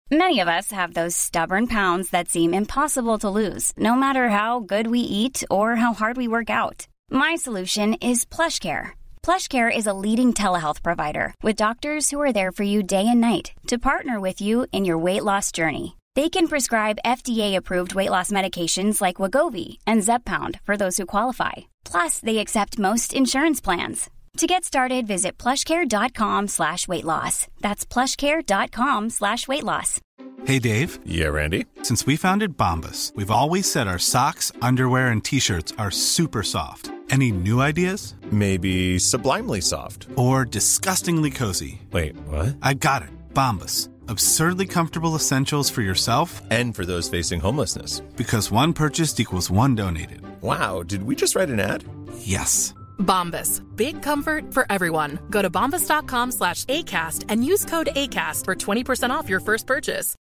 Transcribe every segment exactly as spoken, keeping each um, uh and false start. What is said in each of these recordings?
Many of us have those stubborn pounds that seem impossible to lose, no matter how good we eat or how hard we work out. My solution is PlushCare. PlushCare is a leading telehealth provider with doctors who are there for you day and night to partner with you in your weight loss journey. They can prescribe F D A-approved weight loss medications like Wegovy and Zepbound for those who qualify. Plus, they accept most insurance plans. To get started, visit plushcare.com slash weight loss. That's plushcare.com slash weight loss. Hey, Dave. Yeah, Randy. Since we founded Bombas, we've always said our socks, underwear, and T-shirts are super soft. Any new ideas? Maybe sublimely soft. Or disgustingly cozy. Wait, what? I got it. Bombas. Absurdly comfortable essentials for yourself and for those facing homelessness. Because one purchased equals one donated. Wow, did we just write an ad? Yes. Bombas. Big comfort for everyone. Go to bombas.com slash ACAST and use code ACAST for twenty percent off your first purchase.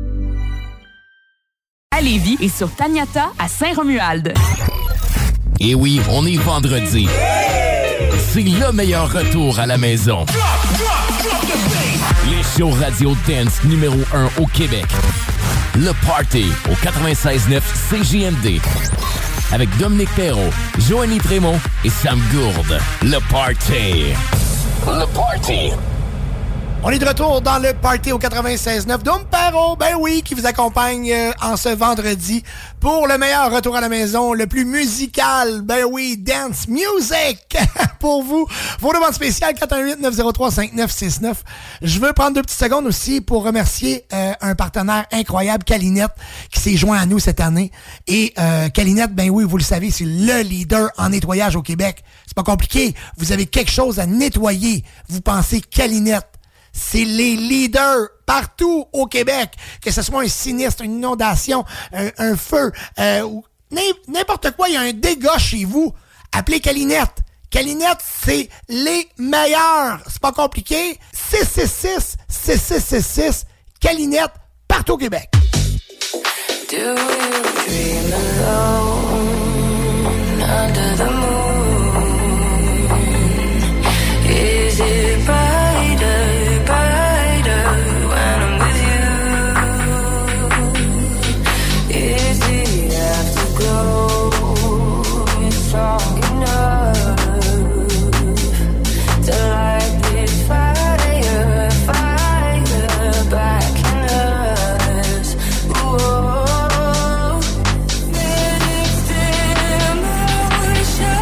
À Lévis et sur Taniata à Saint-Romuald. Et oui, on est vendredi. C'est le meilleur retour à la maison. Les shows radio dance numéro un au Québec. Le Party au quatre-vingt-seize neuf C J M D. Avec Dominique Perrault, Joanie Prémont et Sam Gourde. Le Party. Le Party. On est de retour dans le Party au quatre-vingt-seize neuf. Dom Perrault, ben oui, qui vous accompagne euh, en ce vendredi pour le meilleur retour à la maison, le plus musical, ben oui, dance music pour vous. Vos demandes spéciales, quatre un huit neuf zéro trois cinq neuf six neuf. Je veux prendre deux petites secondes aussi pour remercier euh, un partenaire incroyable, Calinette, qui s'est joint à nous cette année. Et euh, Calinette, ben oui, vous le savez, c'est le leader en nettoyage au Québec. C'est pas compliqué. Vous avez quelque chose à nettoyer. Vous pensez Calinette. C'est les leaders partout au Québec, que ce soit un sinistre, une inondation, un, un feu, euh, ou n'importe quoi, il y a un dégât chez vous. Appelez Calinette. Calinette, c'est les meilleurs. C'est pas compliqué. six six six, six six six six, Calinette, partout au Québec. Do you dream alone under the moon? Is it brighter? Strong enough to light this fire, fire back in us. Whoa, mixed emotions.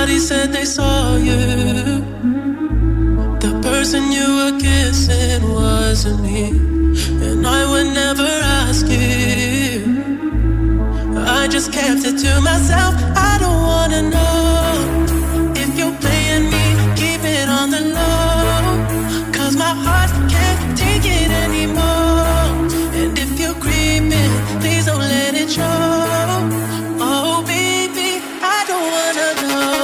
Somebody said they saw you. The person you were kissing wasn't me, and I would never ask you. I just kept it to myself. I don't wanna know if you're playing me. Keep it on the low, 'cause my heart can't take it anymore. And if you're creeping, please don't let it show. Oh baby, I don't wanna know.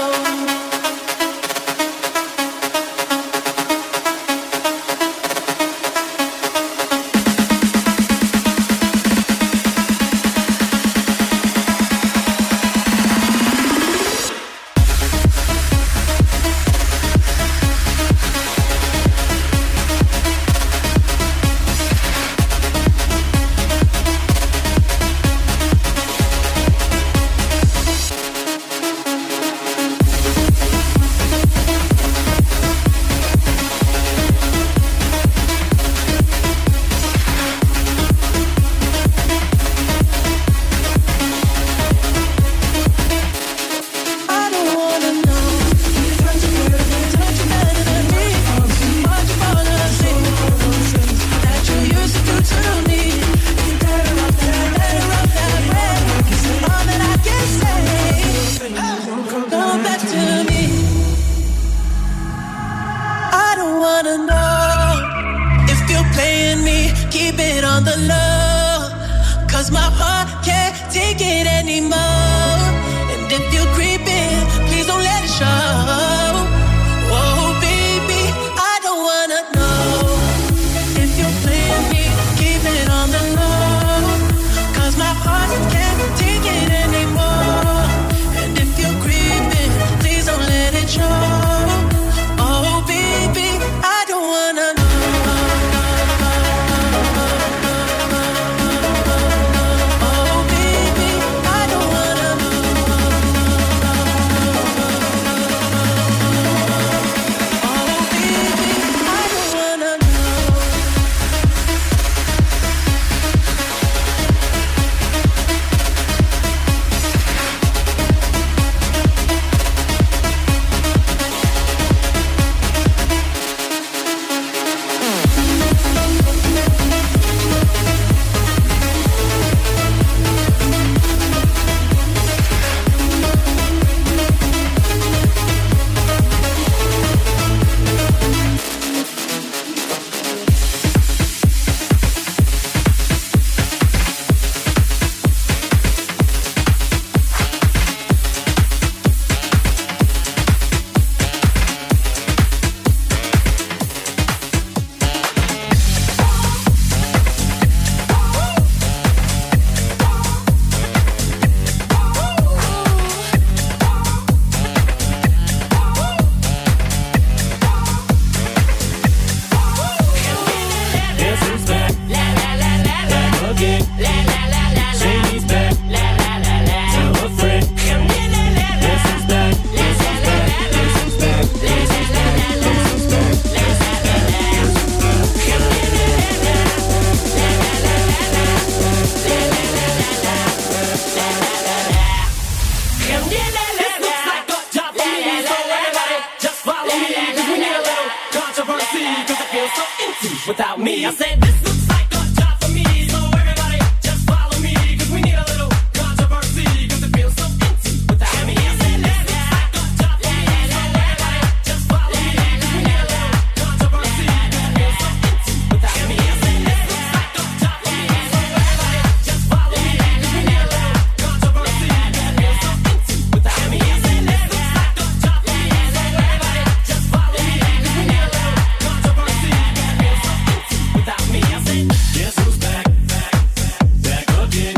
Without me, I said this looks like a job for me. So everybody just follow me, 'cause we need a little controversy, 'cause it feels so empty without me. I said this looks like a job for me. So everybody just follow me, 'cause we need a little controversy, 'cause it feels so empty without me. I said this looks like a job for me. So everybody just follow me, 'cause we need a little controversy, 'cause it feels so empty without me. I said this looks like a job for me. So everybody just follow me, 'cause we need a little controversy, 'cause it feels so empty without me. I said, guess who's back, back, back again?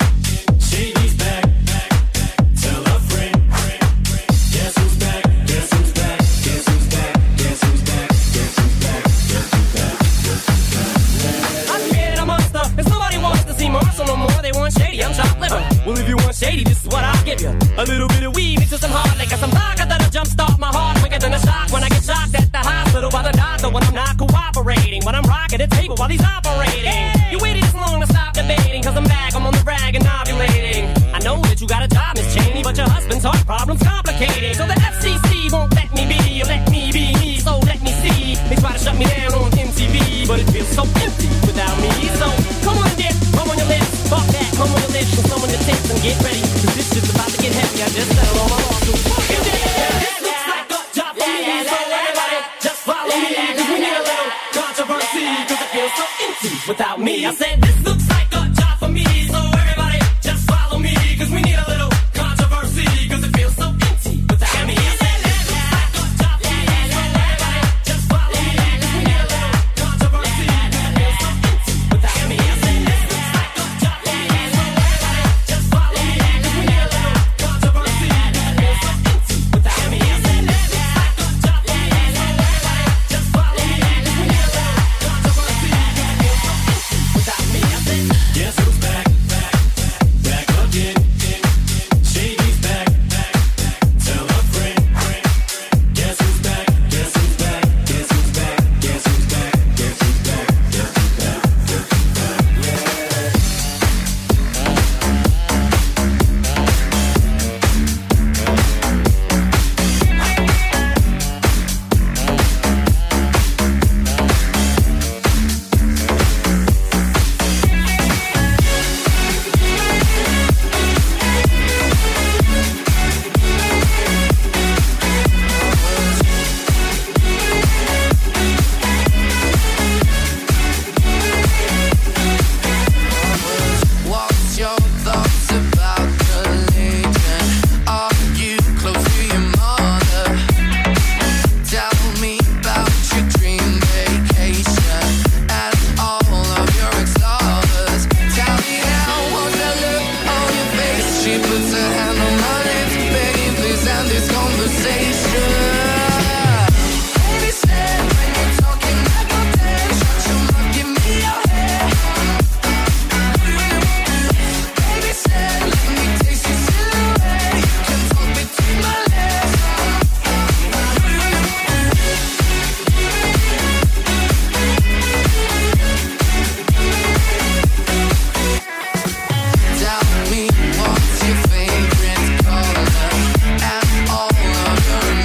Shady's back, back, tell a friend. Guess who's back, guess who's back, guess who's back, guess who's back, guess who's back, guess who's back, guess who's back. I created a monster, 'cause nobody wants to see Marshall no more. They want Shady, I'm chopped liver. Well, if you want Shady, this is what I'll give you. A little bit of weed mixed with some hard liquor, some vodka that'll jumpstart my heart quicker than a shock when I get shocked at the hospital by the doctor when I'm not cooperating. When I'm rocking the table while he's operating. You waited this long to stop debating, 'cause I'm back, I'm on the rag and ovulating. I know that you got a job, Miss Cheney, but your husband's heart problem's complicating. So the F C C won't let me be, or let me be me, so let me see. They try to shut me down on M T V, but it feels so empty without me. So come on, dear, come on your lips, fuck that, come on your lips, and come on your tips and get ready, cause this shit's about to get heavy. I just settled all my lawsuits. Fucking dead. This looks like a job for me, so everybody just follow me, cause we need a little controversy, cause it feels so empty without me. I said this looks like a job for me, so everybody just follow me, cause we need a little controversy, cause it feels so empty without me. I said this looks like a job for me, so everybody just follow me, cause we need a little controversy, cause it feels so empty without me. I said this looks like a job for me, so everybody just follow me, cause we need a little controversy, cause it feels so empty without me. I said this looks like a job for me, so everybody just follow me, cause we need a little controversy, cause it feels so empty without me. I said, guess who's back, back, back, back again? Shady's back, back, back. Tell a friend, friend. Guess who's back? Guess who's back? Guess who's back? Guess who's back? Guess who's back? Guess who's back? Guess who's What's your thoughts about religion? Are you close to your mother? Tell me about your dream vacation and all of your ex-lovers. Tell me now, what's that look on your face? She puts her hand on my lips, begging please end this conversation. Baby said when you're talking I go dead, shut your mouth, give me your head. Baby said let me taste your silhouette, you can talk between my legs. Tell me what's your favorite color and all of your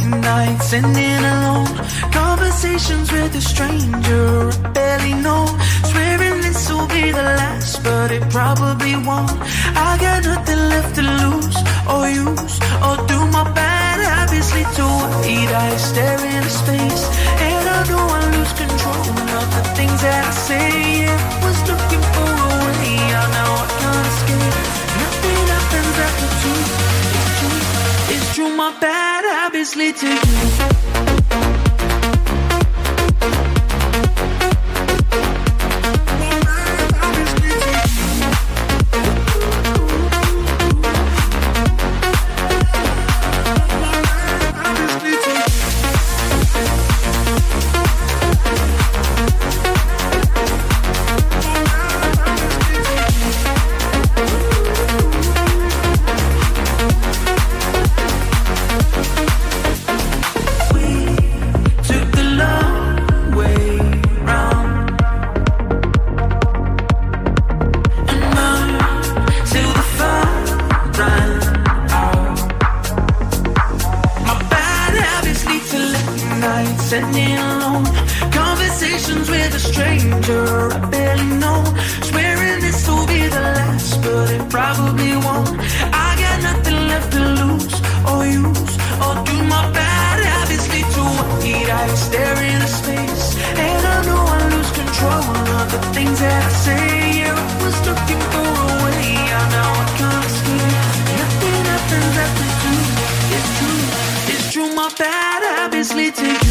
nights ending alone. Conversations with a stranger I barely know. Swearing this will be the last, but it probably won't. I got nothing left to lose or use or do. My bad habits lead to white eyes stare into space, and I know I lose control of the things that I say. Yeah, I was looking for a way out, now I can't escape. Nothing happens after two. It's true, it's true. My bad habits lead to you. Sitting alone, conversations with a stranger I barely know. Swearing this will be the last, but it probably won't. I got nothing left to lose or use or do. My bad habits lead to white eyes stare into space, and I know I lose control of the things that I say. Yeah, I was looking for a way out, now I can't escape. Nothing happens after two. It's true, it's true. My bad habits lead to you.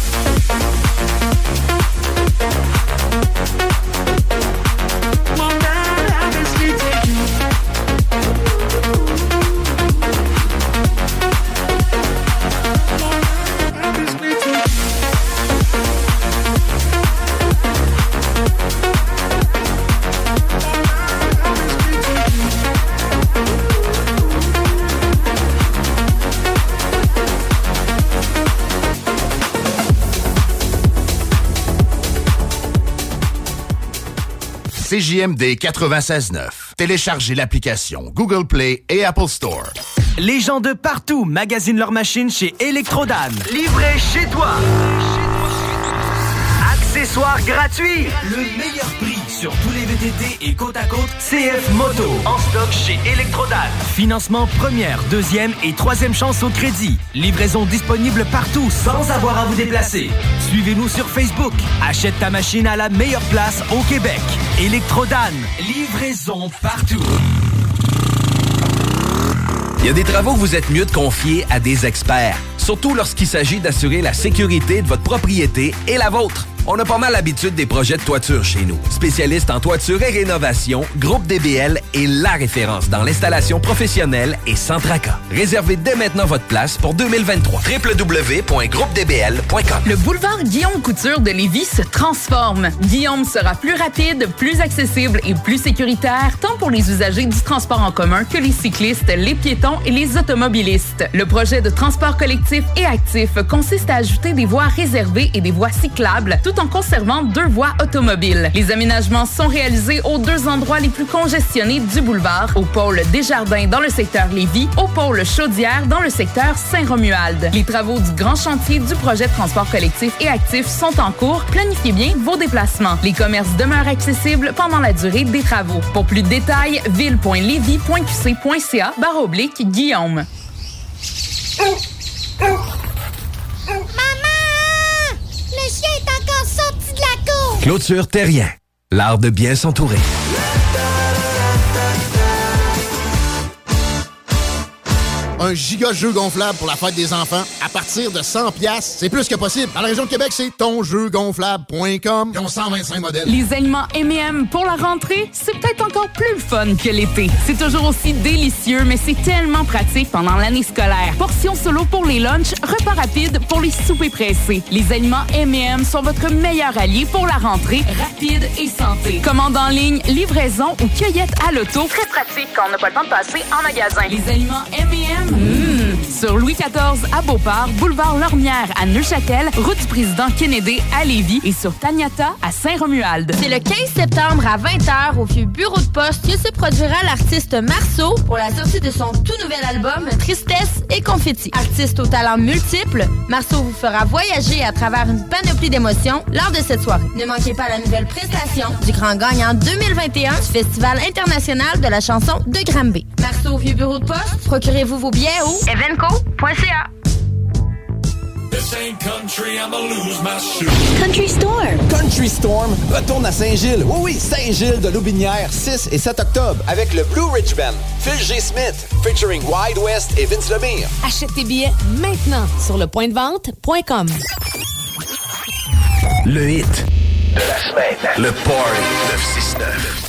C J M D quatre-vingt-seize neuf. Téléchargez l'application Google Play et Apple Store. Les gens de partout magasinent leurs machines chez Electrodan. Livré chez toi. Accessoires gratuits. Le meilleur prix sur tous les V T T et côte à côte C F Moto. En stock chez Electrodan. Financement première, deuxième et troisième chance au crédit. Livraison disponible partout sans avoir à vous déplacer. Suivez-nous sur Facebook. Achète ta machine à la meilleure place au Québec. Electrodan. Livraison partout. Il y a des travaux que vous êtes mieux de confier à des experts. Surtout lorsqu'il s'agit d'assurer la sécurité de votre propriété et la vôtre. On a pas mal l'habitude des projets de toiture chez nous. Spécialiste en toiture et rénovation, Groupe D B L est la référence dans l'installation professionnelle et sans tracas. Réservez dès maintenant votre place pour deux mille vingt-trois. w w w point groupe d b l point com. Le boulevard Guillaume Couture de Lévis se transforme. Guillaume sera plus rapide, plus accessible et plus sécuritaire, tant pour les usagers du transport en commun que les cyclistes, les piétons et les automobilistes. Le projet de transport collectif et actif consiste à ajouter des voies réservées et des voies cyclables, tout en conservant deux voies automobiles. Les aménagements sont réalisés aux deux endroits les plus congestionnés du boulevard, au pôle Desjardins dans le secteur Lévis, au pôle Chaudière dans le secteur Saint-Romuald. Les travaux du grand chantier du projet de transport collectif et actif sont en cours. Planifiez bien vos déplacements. Les commerces demeurent accessibles pendant la durée des travaux. Pour plus de détails, ville point lévis point q c point c a barre oblique Guillaume. Le chien est encore sorti de la cour! Clôture Terrien. L'art de bien s'entourer. Un giga jeu gonflable pour la fête des enfants à partir de cent piastres. C'est plus que possible. Dans la région de Québec, c'est ton jeu gonflable point com. Ils ont cent vingt-cinq modèles. Les aliments M et M pour la rentrée, c'est peut-être encore plus fun que l'été. C'est toujours aussi délicieux, mais c'est tellement pratique pendant l'année scolaire. Portions solo pour les lunchs, repas rapides pour les soupers pressés. Les aliments M et M sont votre meilleur allié pour la rentrée rapide et santé. Commande en ligne, livraison ou cueillette à l'auto. Très pratique quand on n'a pas le temps de passer en magasin. Les aliments M et M, mmh, sur Louis quatorze à Beauport, boulevard Lormière à Neuchâtel, route du président Kennedy à Lévis et sur Taniata à Saint-Romuald. C'est le quinze septembre à vingt heures au vieux bureau de poste que se produira l'artiste Marceau pour la sortie de son tout nouvel album Tristesse et Confetti. Artiste aux talents multiples, Marceau vous fera voyager à travers une panoplie d'émotions lors de cette soirée. Ne manquez pas la nouvelle prestation du grand gagnant deux mille vingt et un du Festival international de la chanson de Granby. Marceau au vieux bureau de poste, procurez-vous vos billets au evenco point c a. This ain't country, I'ma lose my shoe. Country Storm. Country Storm retourne à Saint-Gilles. Oui, oui, Saint-Gilles de Loubinière, six et sept octobre, avec le Blue Ridge Band. Phil G. Smith, featuring Wide West et Vince Lemire. Achète tes billets maintenant sur le point de vente point com. Le hit de la semaine. Le Party neuf cent soixante-neuf.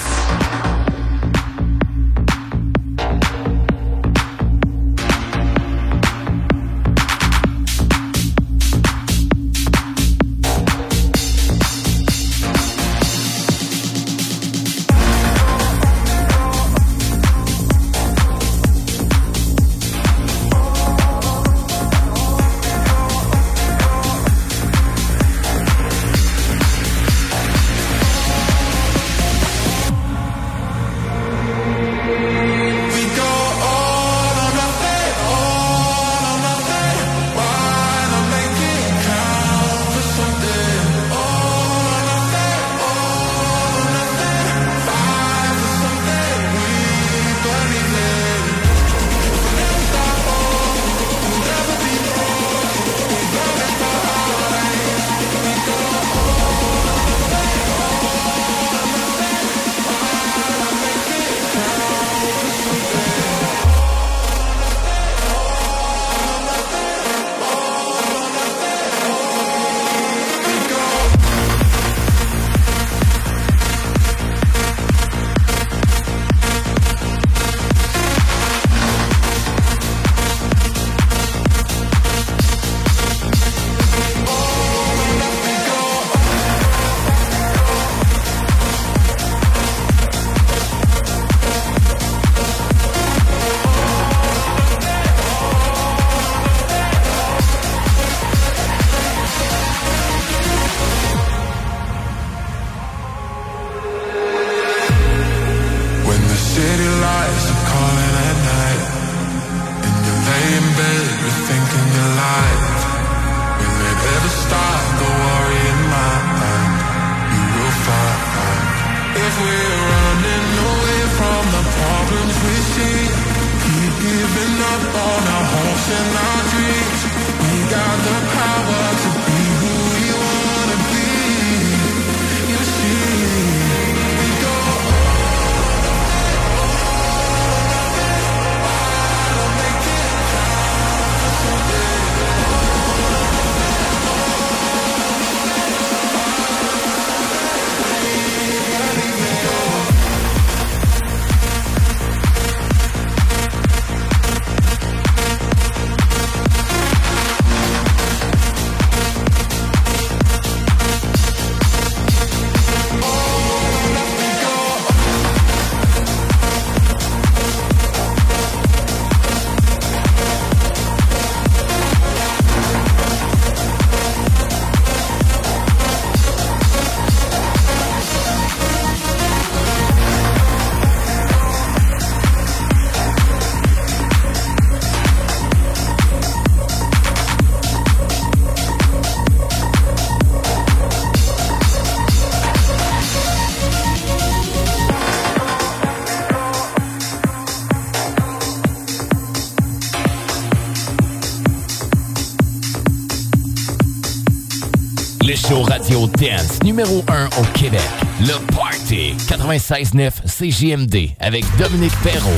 Le show radio dance numéro un au Québec. Le Party quatre-vingt-seize neuf C J M D avec Dominique Perrault.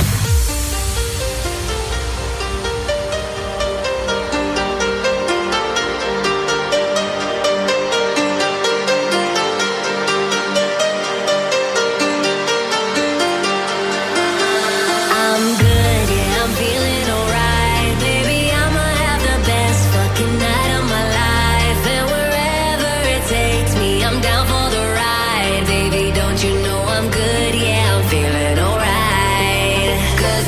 Don't you know I'm good? Yeah, I'm feeling alright.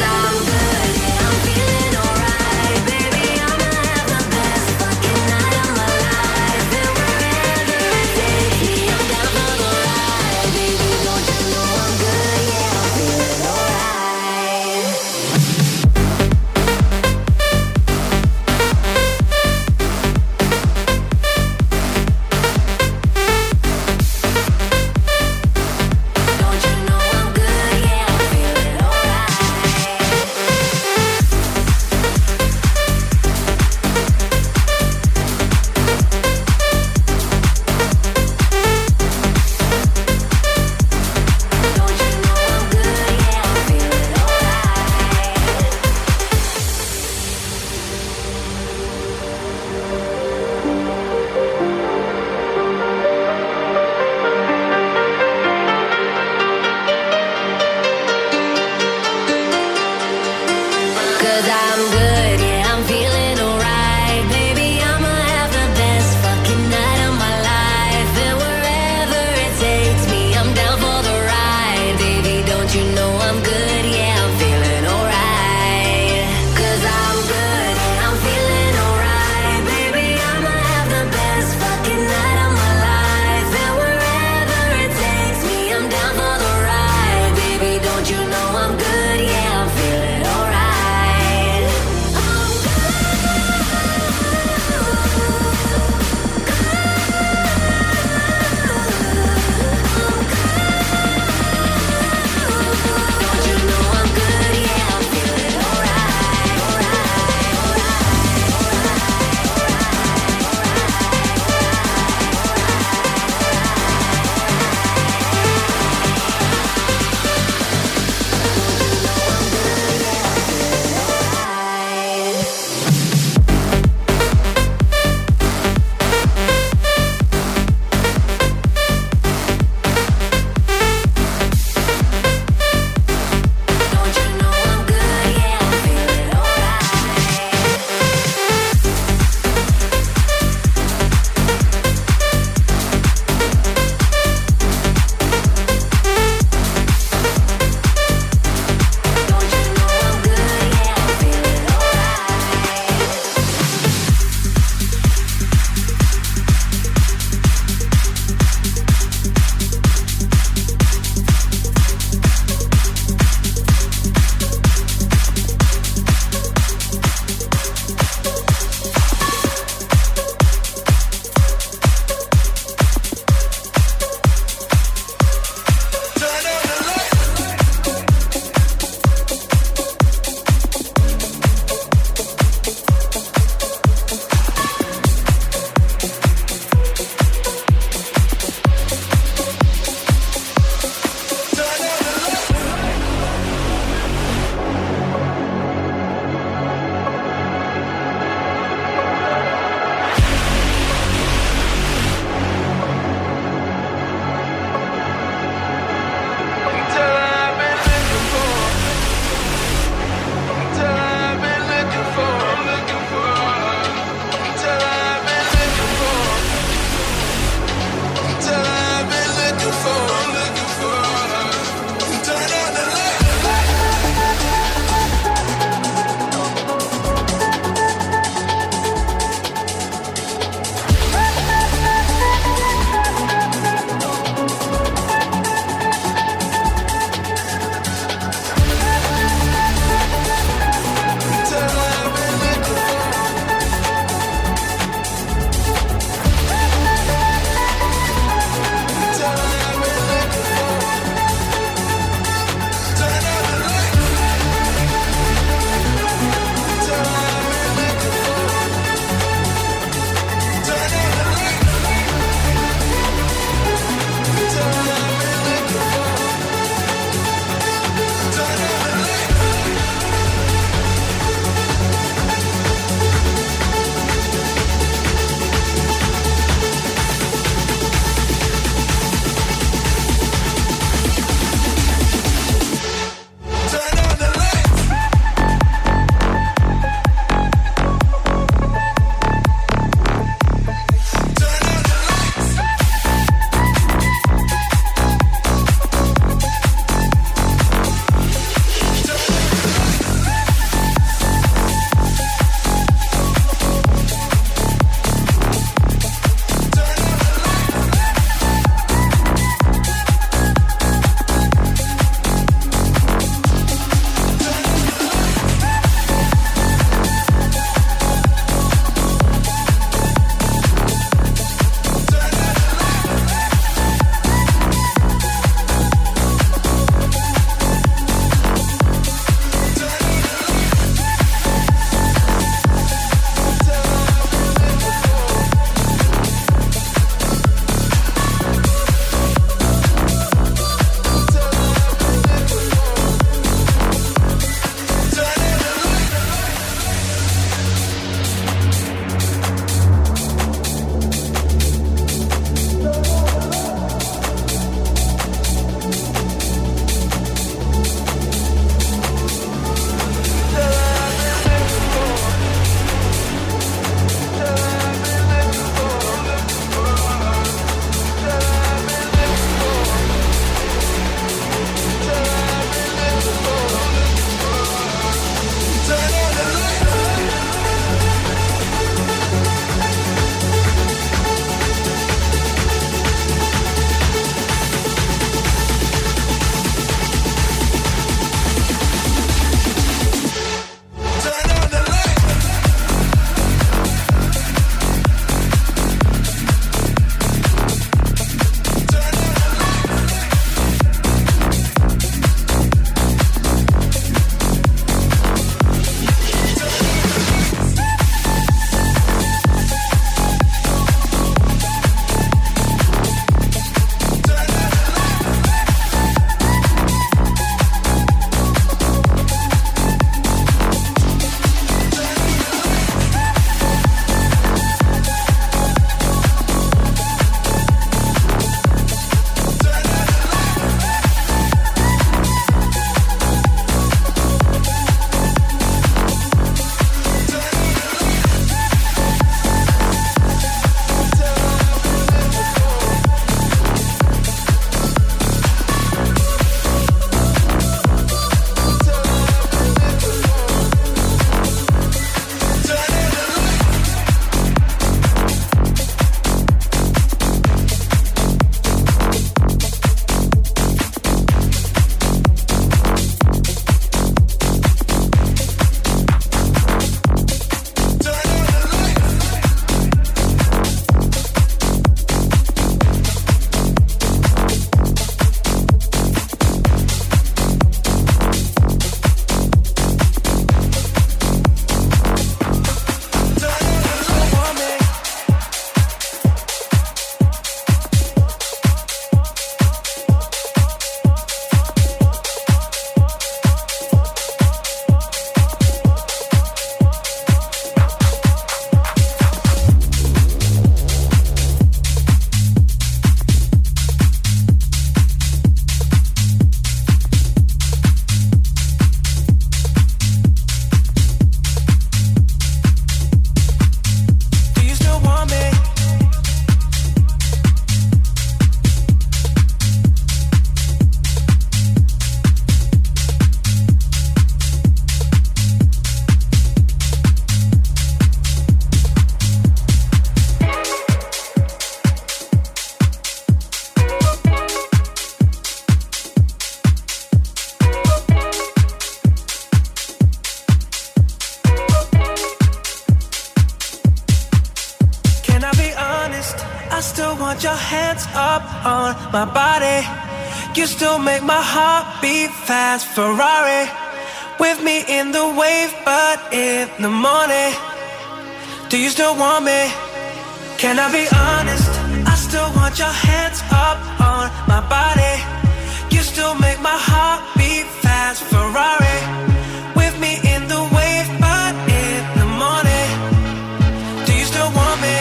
still want your hands up on my body. You still make my heart beat fast. Ferrari with me in the wave, but in the morning. Do you still want me? Can I be honest? I still want your hands up on my body. You still make my heart beat fast. Ferrari with me in the wave, but in the morning. Do you still want me?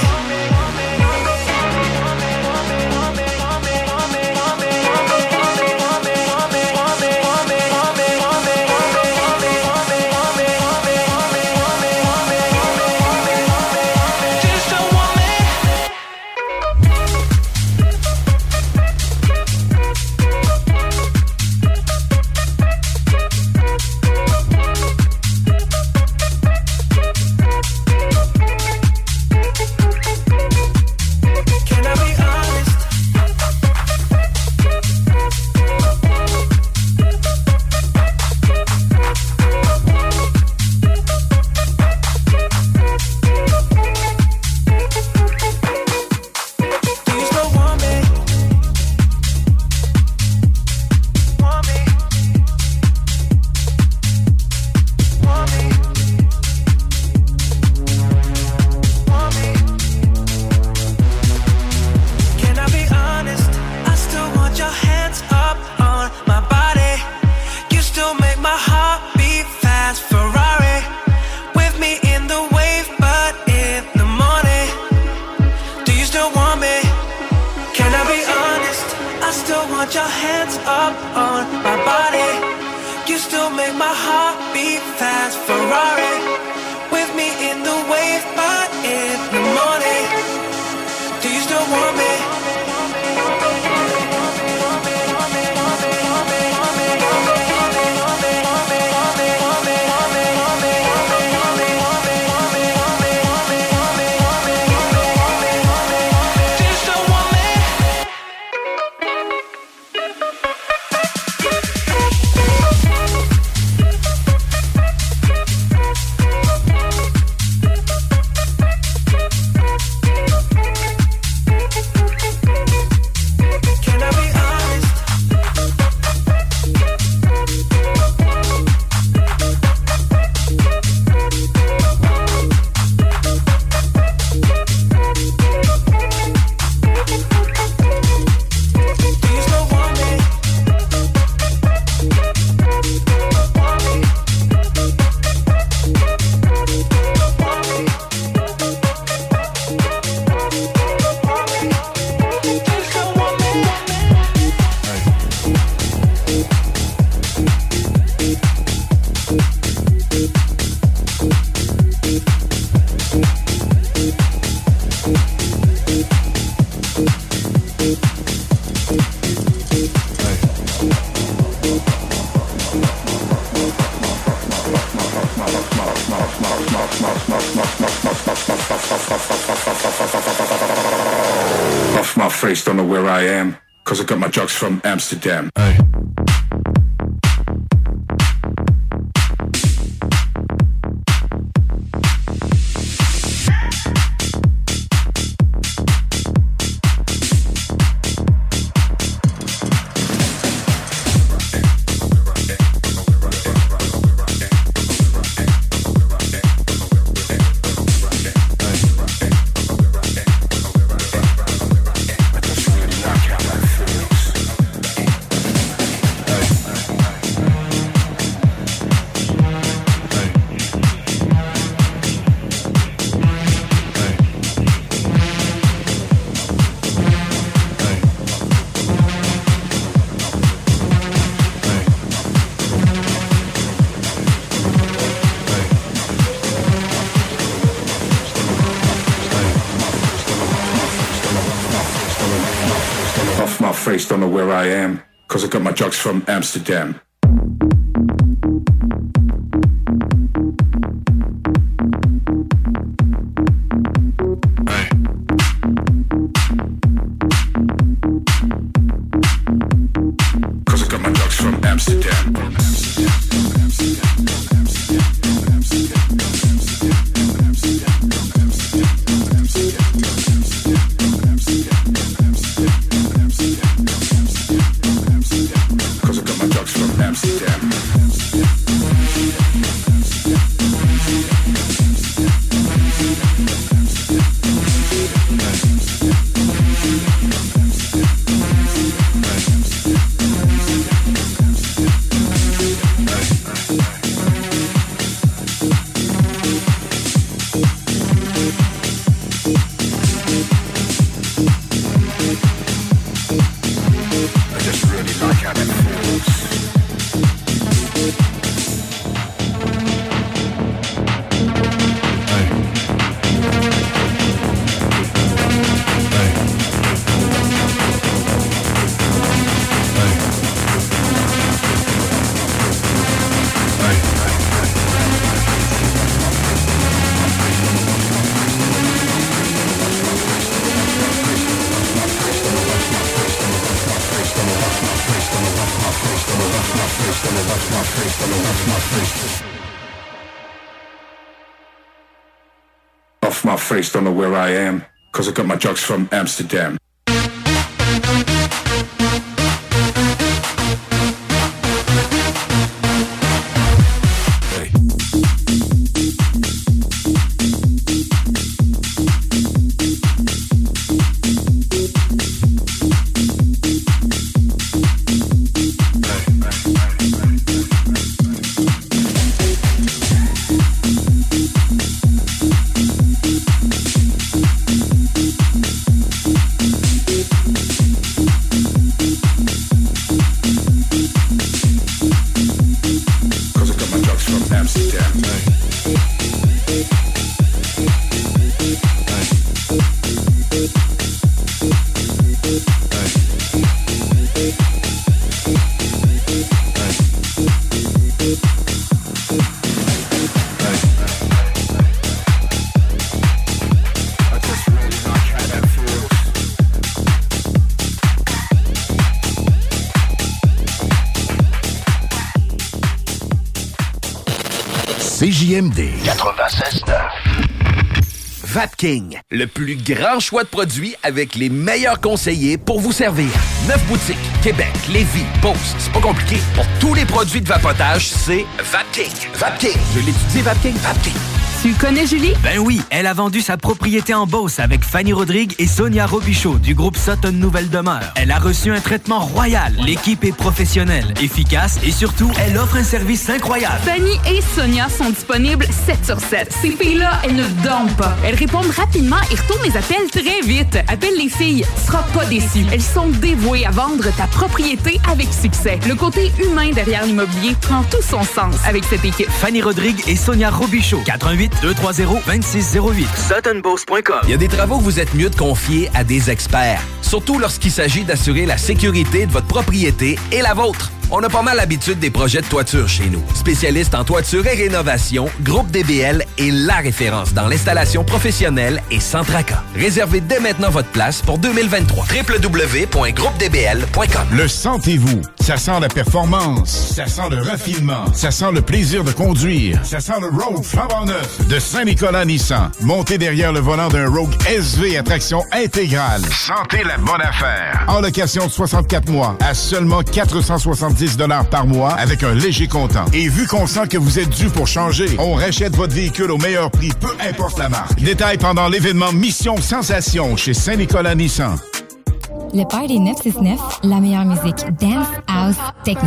Off my face, don't know where I am, cause I got my drugs from Amsterdam. Hey. Face, don't know where I am, cause I got my drugs from Amsterdam. Hey. Cause I got my drugs from Amsterdam. Amsterdam. Off my face, don't know, off my face. Off my face, don't know where I am, cause I got my drugs from Amsterdam. C J M D quatre-vingt-seize neuf. Vapking, le plus grand choix de produits avec les meilleurs conseillers pour vous servir. Neuf boutiques, Québec, Lévis, Beauce. C'est pas compliqué. Pour tous les produits de vapotage, c'est Vapking. Vapking. Je l'étudie, Vapking. Vapking. Tu connais Julie? Ben oui, elle a vendu sa propriété en Beauce avec Fanny Rodrigue et Sonia Robichaud du groupe Sutton Nouvelle Demeure. Elle a reçu un traitement royal. L'équipe est professionnelle, efficace et surtout, elle offre un service incroyable. Fanny et Sonia sont disponibles sept sur sept. Ces filles-là, elles ne dorment pas. Elles répondent rapidement et retournent les appels très vite. Appelle les filles, tu seras pas déçu. Elles sont dévouées à vendre ta propriété avec succès. Le côté humain derrière l'immobilier prend tout son sens avec cette équipe. Fanny Rodrigue et Sonia Robichaud. quatre un huit, deux trois zéro, deux six zéro huit. Sutton Beauce point com. Il y a des travaux que vous êtes mieux de confier à des experts. Surtout lorsqu'il s'agit d'assurer la sécurité de votre propriété et la vôtre. On a pas mal l'habitude des projets de toiture chez nous. Spécialiste en toiture et rénovation, Groupe D B L est la référence dans l'installation professionnelle et sans tracas. Réservez dès maintenant votre place pour deux mille vingt-trois. w w w point groupe d b l point com. Le sentez-vous? Ça sent la performance. Ça sent le raffinement. Ça sent le plaisir de conduire. Ça sent le Rogue flambant neuf de Saint-Nicolas Nissan. Montez derrière le volant d'un Rogue S V à traction intégrale. Sentez la bonne affaire. En location de soixante-quatre mois à seulement quatre cent soixante-dix dollars par mois avec un léger comptant. Et vu qu'on sent que vous êtes dû pour changer, on rachète votre véhicule au meilleur prix, peu importe la marque. Détail pendant l'événement Mission Sensation chez Saint-Nicolas Nissan. Le Party neuf cent soixante-neuf, la meilleure musique dance, house, techno.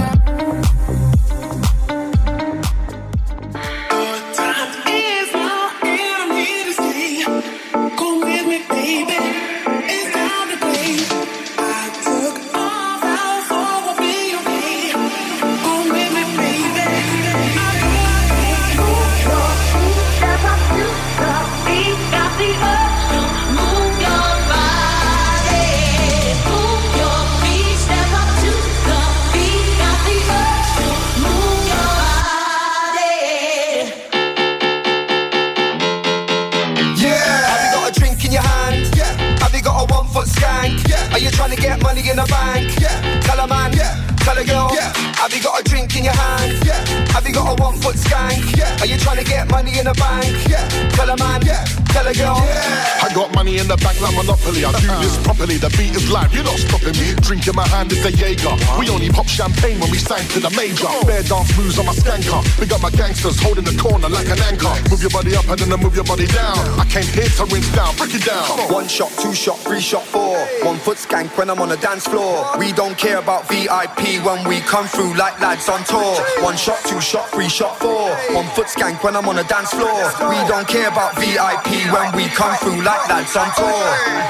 Are you trying to get money in the bank? Yeah. Tell a man, yeah. Tell a girl, yeah. Have you got a drink in your hand? Yeah. Have you got a one foot skank? Yeah. Are you trying to get money in the bank? Yeah. Tell a man, yeah. Tell a girl, yeah. I got money in the bank like Monopoly. I do this properly. The beat is live. You're not stopping me. Drink in my hand is a Jaeger. We only pop champagne when we sang to the major. Bare dance moves on my skanker. We got my gangsters holding the corner like an anchor. Move your body up and then I move your body down. I came here to rinse down. Break it down. One shot, two shot, three shot, four. One foot skank when I'm on the dance floor. We don't care about V I P when we come through like lads on tour. One shot, two shot, three shot, four. One foot skank when I'm on the dance floor. We don't care about V I P when we come through like lads on tour.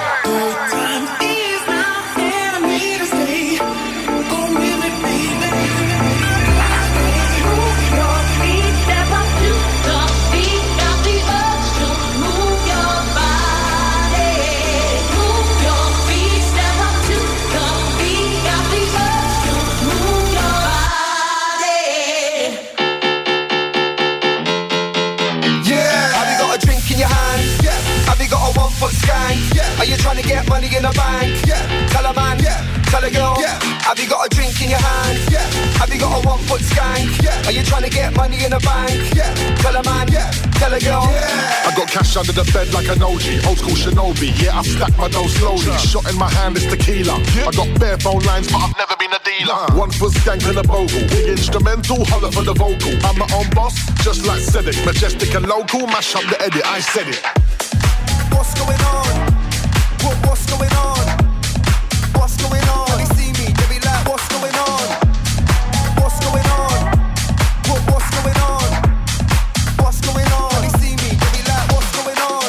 Yeah. Are you trying to get money in the bank? Yeah. Tell a man, yeah. Tell a girl, yeah. Have you got a drink in your hand? Yeah. Have you got a one foot skank? Yeah. Are you trying to get money in the bank? Yeah. Tell a man, yeah. Tell a girl, yeah. I got cash under the bed like an O G, old school Shinobi. Yeah, I stack my dough slowly. Shot in my hand is tequila. I got bare phone lines, but I've never been a dealer. One foot skank and a bogle. Big instrumental, holler for the vocal. I'm my own boss, just like Cedric. Majestic and local, mash up the edit. I said it. What's going on? What, what's going on? What's going on? When they see me, they be like, what's going on? What's going on? What, what's going on? What's going on? When they see me, they be like, what's going on?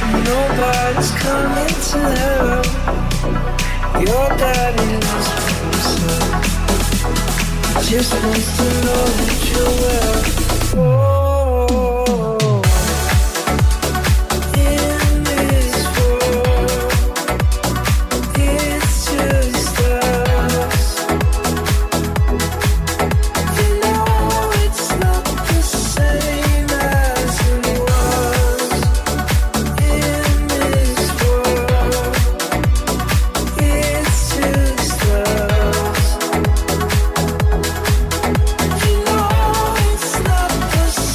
Nobody's coming to help. Your daddy knows himself. Just wants to know that you're well. Oh, in this world, it's just us. You know it's not the same as it was. In this world, it's just us. You know it's not the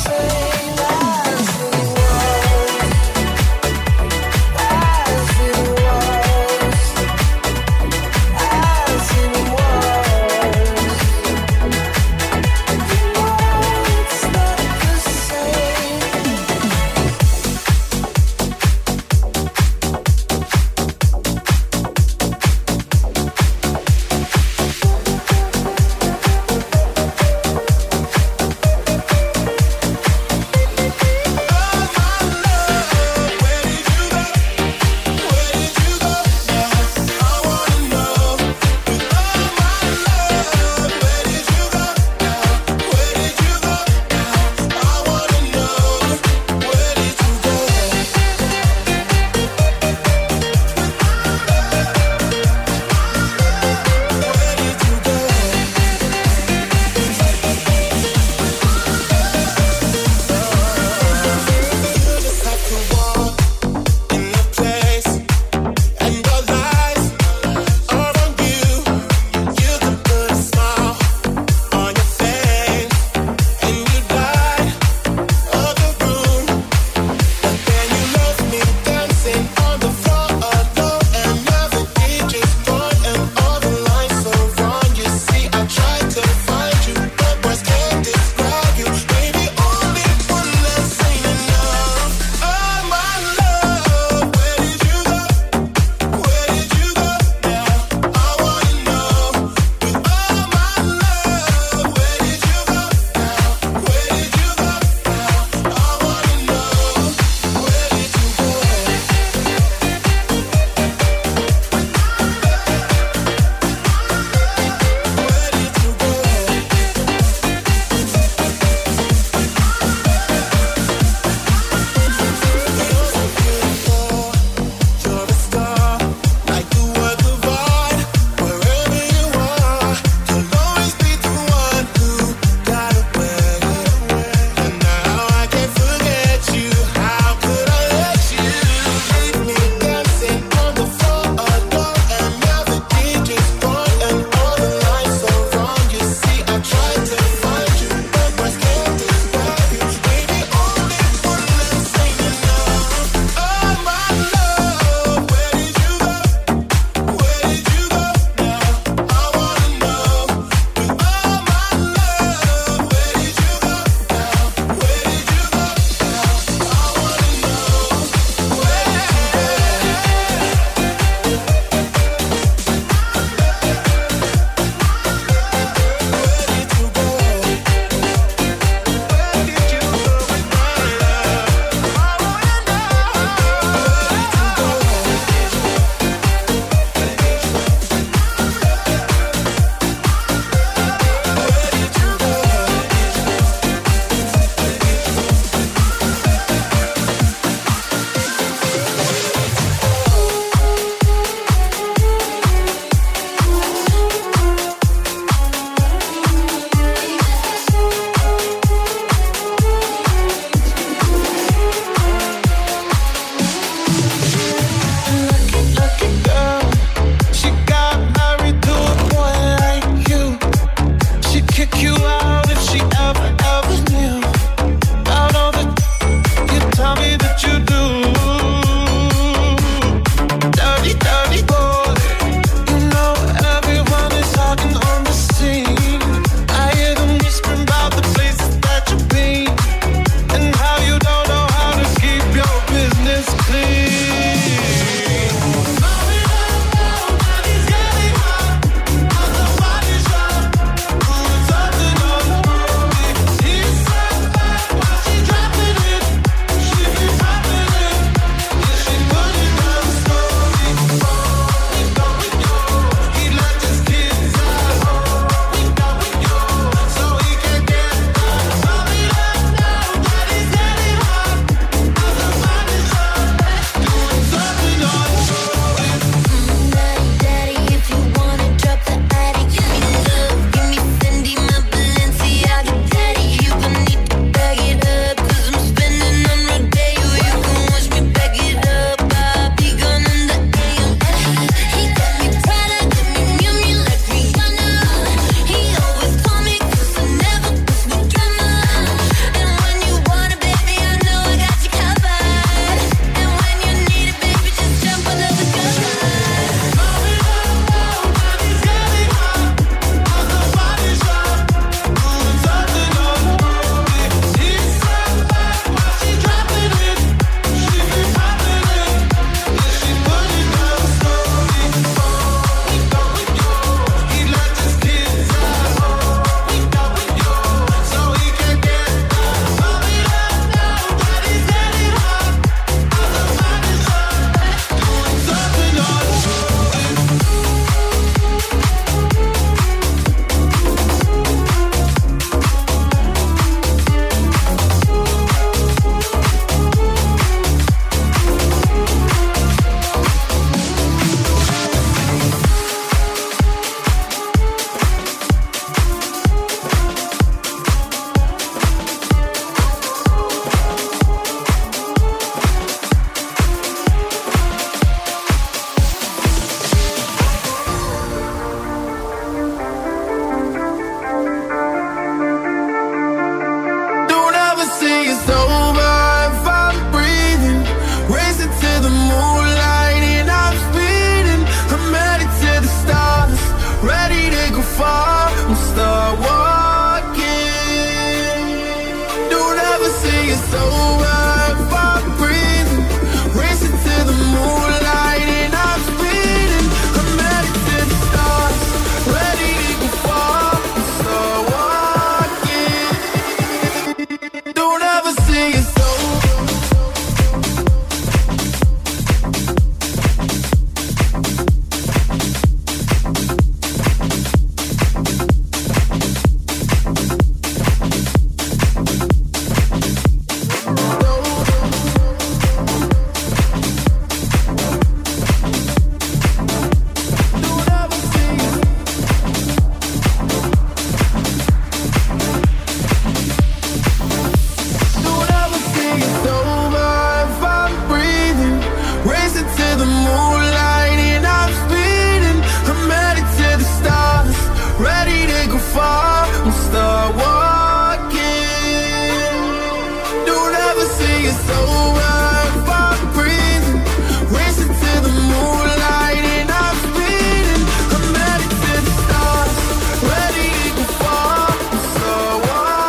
see it's over, fuck breathing. Racing to the moonlight and I'm speeding. I'm headed to the stars, ready to fall. So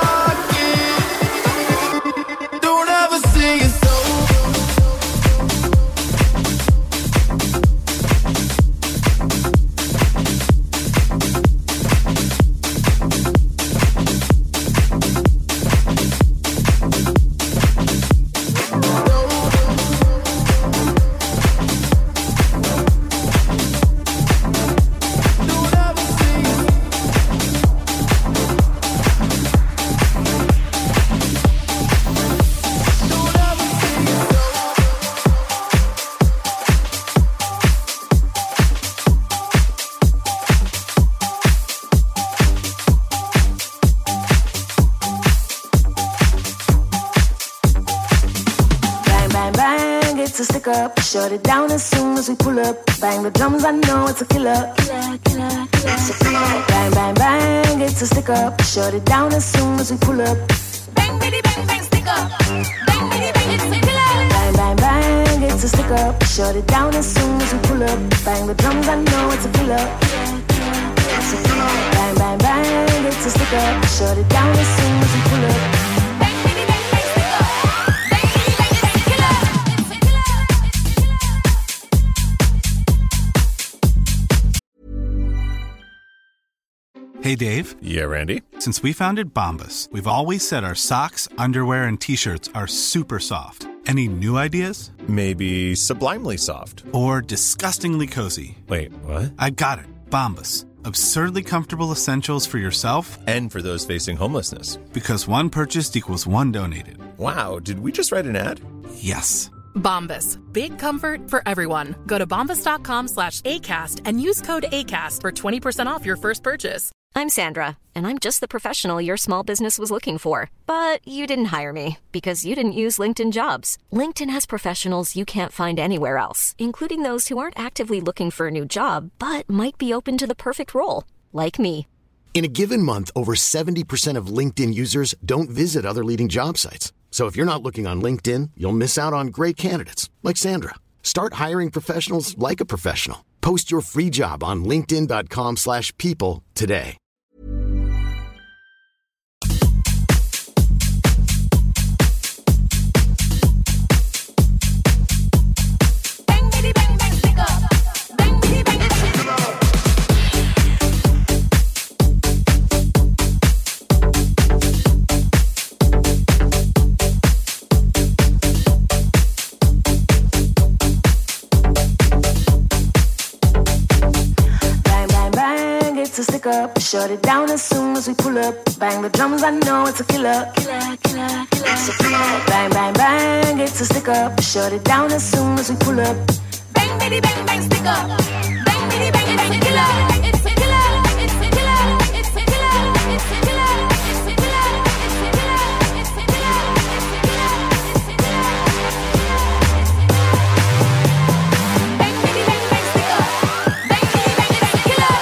walking, don't ever see it's over. Shut it down as soon as we pull up. Bang the drums, I know it's a killer. Killer, killer, killer. Bang, bang, bang, it's a stick up. Shut it down as soon as we pull up. Bang, bitty, bang, bang, stick up. Bang, bitty, bang, it's a killer. Bang, bang, bang, it's a stick up. Shut it down as soon as we pull up. Bang the drums, I know it's a killer. Bang, bang, bang, it's a stick up. Shut it down as soon as we pull up. Hey, Dave. Yeah, Randy? Since we founded Bombas, we've always said our socks, underwear, and T-shirts are super soft. Any new ideas? Maybe sublimely soft. Or disgustingly cozy. Wait, what? I got it. Bombas. Absurdly comfortable essentials for yourself and for those facing homelessness. Because one purchased equals one donated. Wow, did we just write an ad? Yes. Bombas. Big comfort for everyone. Go to bombas.com slash ACAST and use code ACAST for twenty percent off your first purchase. I'm Sandra, and I'm just the professional your small business was looking for. But you didn't hire me because you didn't use LinkedIn Jobs. LinkedIn has professionals you can't find anywhere else, including those who aren't actively looking for a new job, but might be open to the perfect role, like me. In a given month, over seventy percent of LinkedIn users don't visit other leading job sites. So if you're not looking on LinkedIn, you'll miss out on great candidates, like Sandra. Start hiring professionals like a professional. Post your free job on linkedin.com slash people today. Stick up, shut it down as soon as we pull up. Bang the drums, I know it's a killer. Killer, killer, killer. Bang, bang, bang, it's a stick up. Shut it down as soon as we pull up. Bang, bitty, bang, bang, stick up. Bang, bitty, bang, bang, killer. It's a killer. It's a killer. It's a killer. It's a killer. It's a killer. It's a killer. It's a killer. Bang, bitty, bang, bang, stick up. Bang, bitty, bang, it's a killer.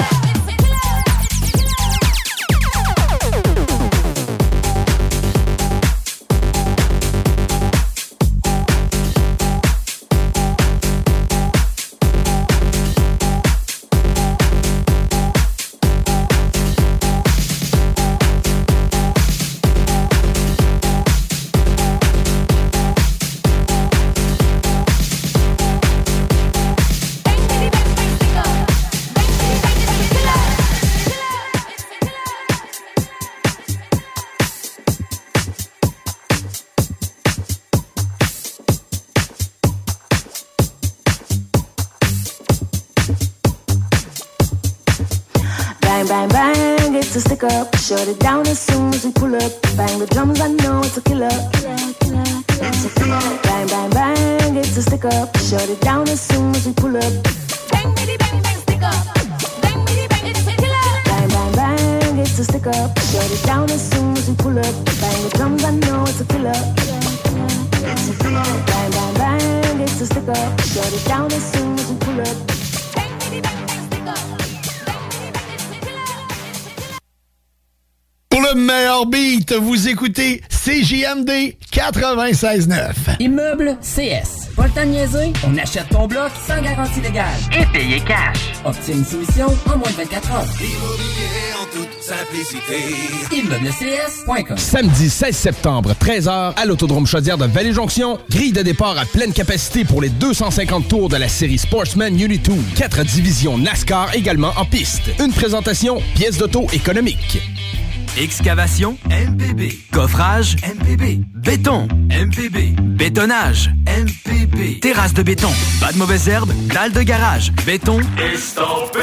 Bang, bang, bang, it's a stick up. Shut it down as soon as we pull up. Bang the drums, I know it's a killer. Killer, killer, killer. It's a killer. Bang, bang, bang, it's a stick up. Shut it down as soon as we pull up. Bang, bitty, bang, bang, stick up. Bang, bitty, bang, it's a killer. Bang, bang, bang, it's a stick up. Shut it down as soon as we pull up. Bang the drums, I know it's a killer. Killer, killer. It's a killer. Bang, bang, bang, it's a stick up. Shut it down as soon as we pull up. Bang, bitty, bang, bang, stick up. Pour le meilleur beat, vous écoutez C J M D quatre-vingt-seize neuf. Immeuble C S. Pas le temps de niaiser? On achète ton bloc sans garantie légale. Et payer cash. Obtiens une soumission en moins de vingt-quatre heures. Immobilier en toute simplicité. Immeuble C S point com. Samedi seize septembre, treize heures, à l'Autodrome Chaudière de Vallée-Jonction. Grille de départ à pleine capacité pour les deux cent cinquante tours de la série Sportsman Unit deux. Quatre divisions NASCAR également en piste. Une présentation, pièces d'auto économique. Excavation, M P B. Coffrage, M P B. Béton, M P B. Bétonnage, M P B. Terrasse de béton, pas de mauvaises herbes, dalle de garage, béton. Estampé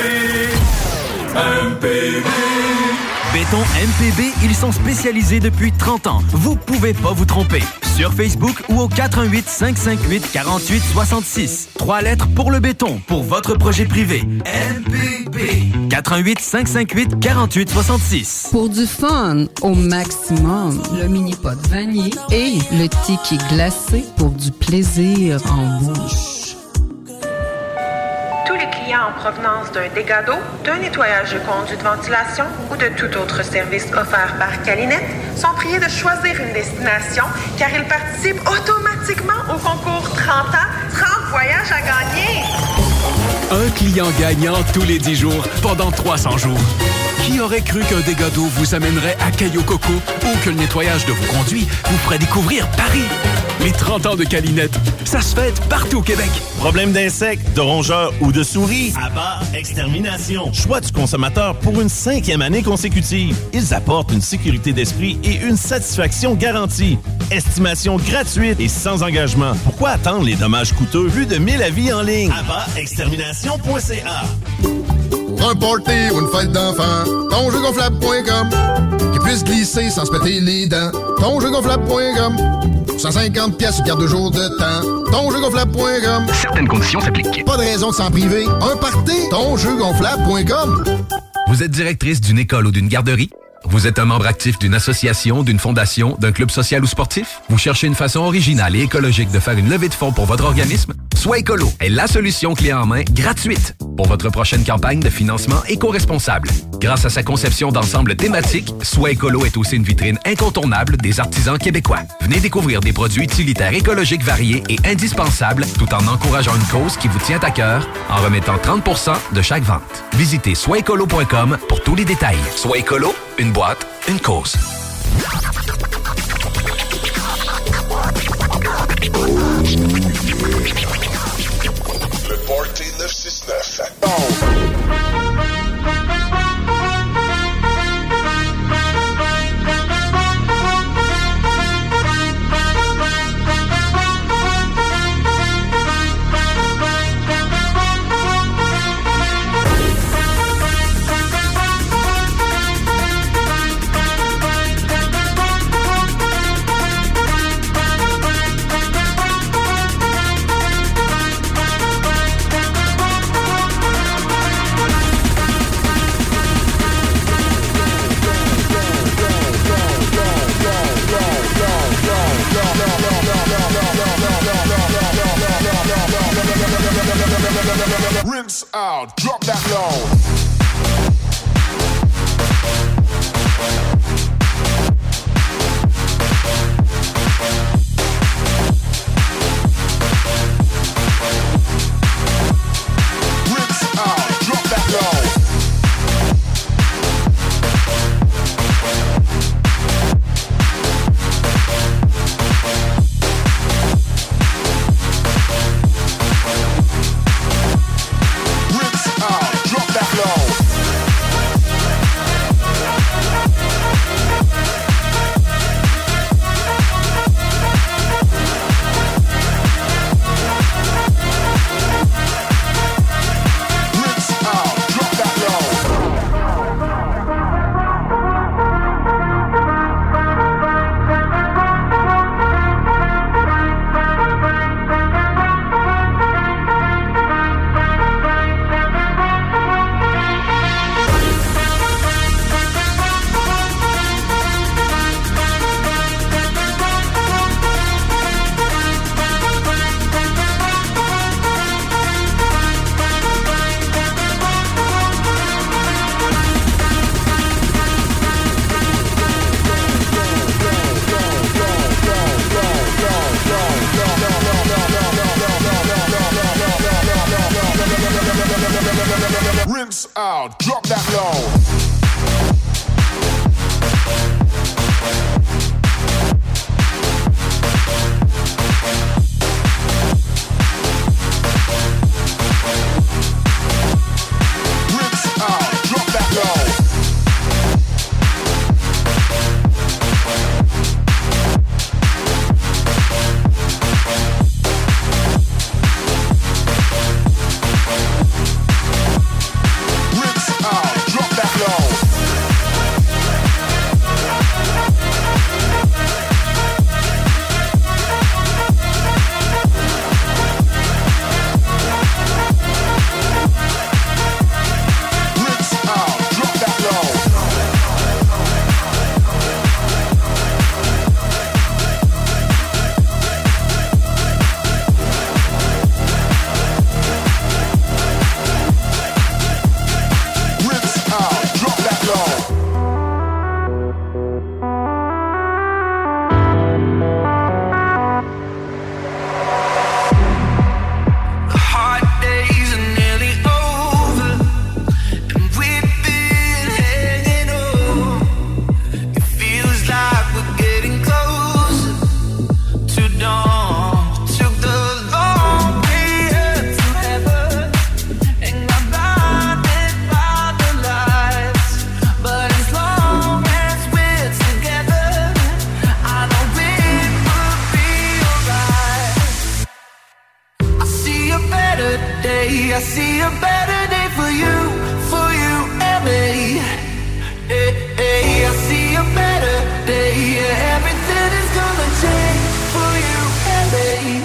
M P B. Béton M P B, ils sont spécialisés depuis trente ans. Vous pouvez pas vous tromper. Sur Facebook ou au quatre un huit, cinq cinq huit, quatre huit six six. Trois lettres pour le béton, pour votre projet privé. M P B. quatre un huit, cinq cinq huit, quatre huit six six. Pour du fun au maximum, le mini-pot vanille et le ticket glacé pour du plaisir en bouche. Tous les clients en provenance d'un dégât d'eau, d'un nettoyage de conduits de ventilation ou de tout autre service offert par Calinette sont priés de choisir une destination car ils participent automatiquement au concours trente ans, trente voyages à gagner. Un client gagnant tous les dix jours pendant trois cents jours. Qui aurait cru qu'un dégât d'eau vous amènerait à Cayo Coco ou que le nettoyage de vos conduits vous ferait découvrir Paris? Les trente ans de Calinette, ça se fête partout au Québec. Problème d'insectes, de rongeurs ou de souris? Abba Extermination. Choix du consommateur pour une cinquième année consécutive. Ils apportent une sécurité d'esprit et une satisfaction garantie. Estimation gratuite et sans engagement. Pourquoi attendre les dommages coûteux? Plus de mille avis en ligne. abba extermination point c a. Pour un party ou une fête d'enfant, ton jeu gonflable point com. Qui puisse glisser sans se péter les dents. ton jeu gonflable point com. cent cinquante pièces garde-jour de temps. ton jeu gonflable point com. Certaines conditions s'appliquent. Pas de raison de s'en priver. Un party, ton jeu gonflable point com. Vous êtes directrice d'une école ou d'une garderie? Vous êtes un membre actif d'une association, d'une fondation, d'un club social ou sportif? Vous cherchez une façon originale et écologique de faire une levée de fonds pour votre organisme? Soit Écolo est la solution clé en main gratuite pour votre prochaine campagne de financement éco-responsable. Grâce à sa conception d'ensemble thématique, Soit Écolo est aussi une vitrine incontournable des artisans québécois. Venez découvrir des produits utilitaires écologiques variés et indispensables tout en encourageant une cause qui vous tient à cœur en remettant trente pour cent de chaque vente. Visitez soit écolo point com pour tous les détails. Soit Écolo, une boîte, une cause. Le Party neuf six neuf. Rinse out, drop that low. Rinse out. day. I see a better day for you, for you and me. Hey, hey, I see a better day. Yeah, everything is gonna change for you and me.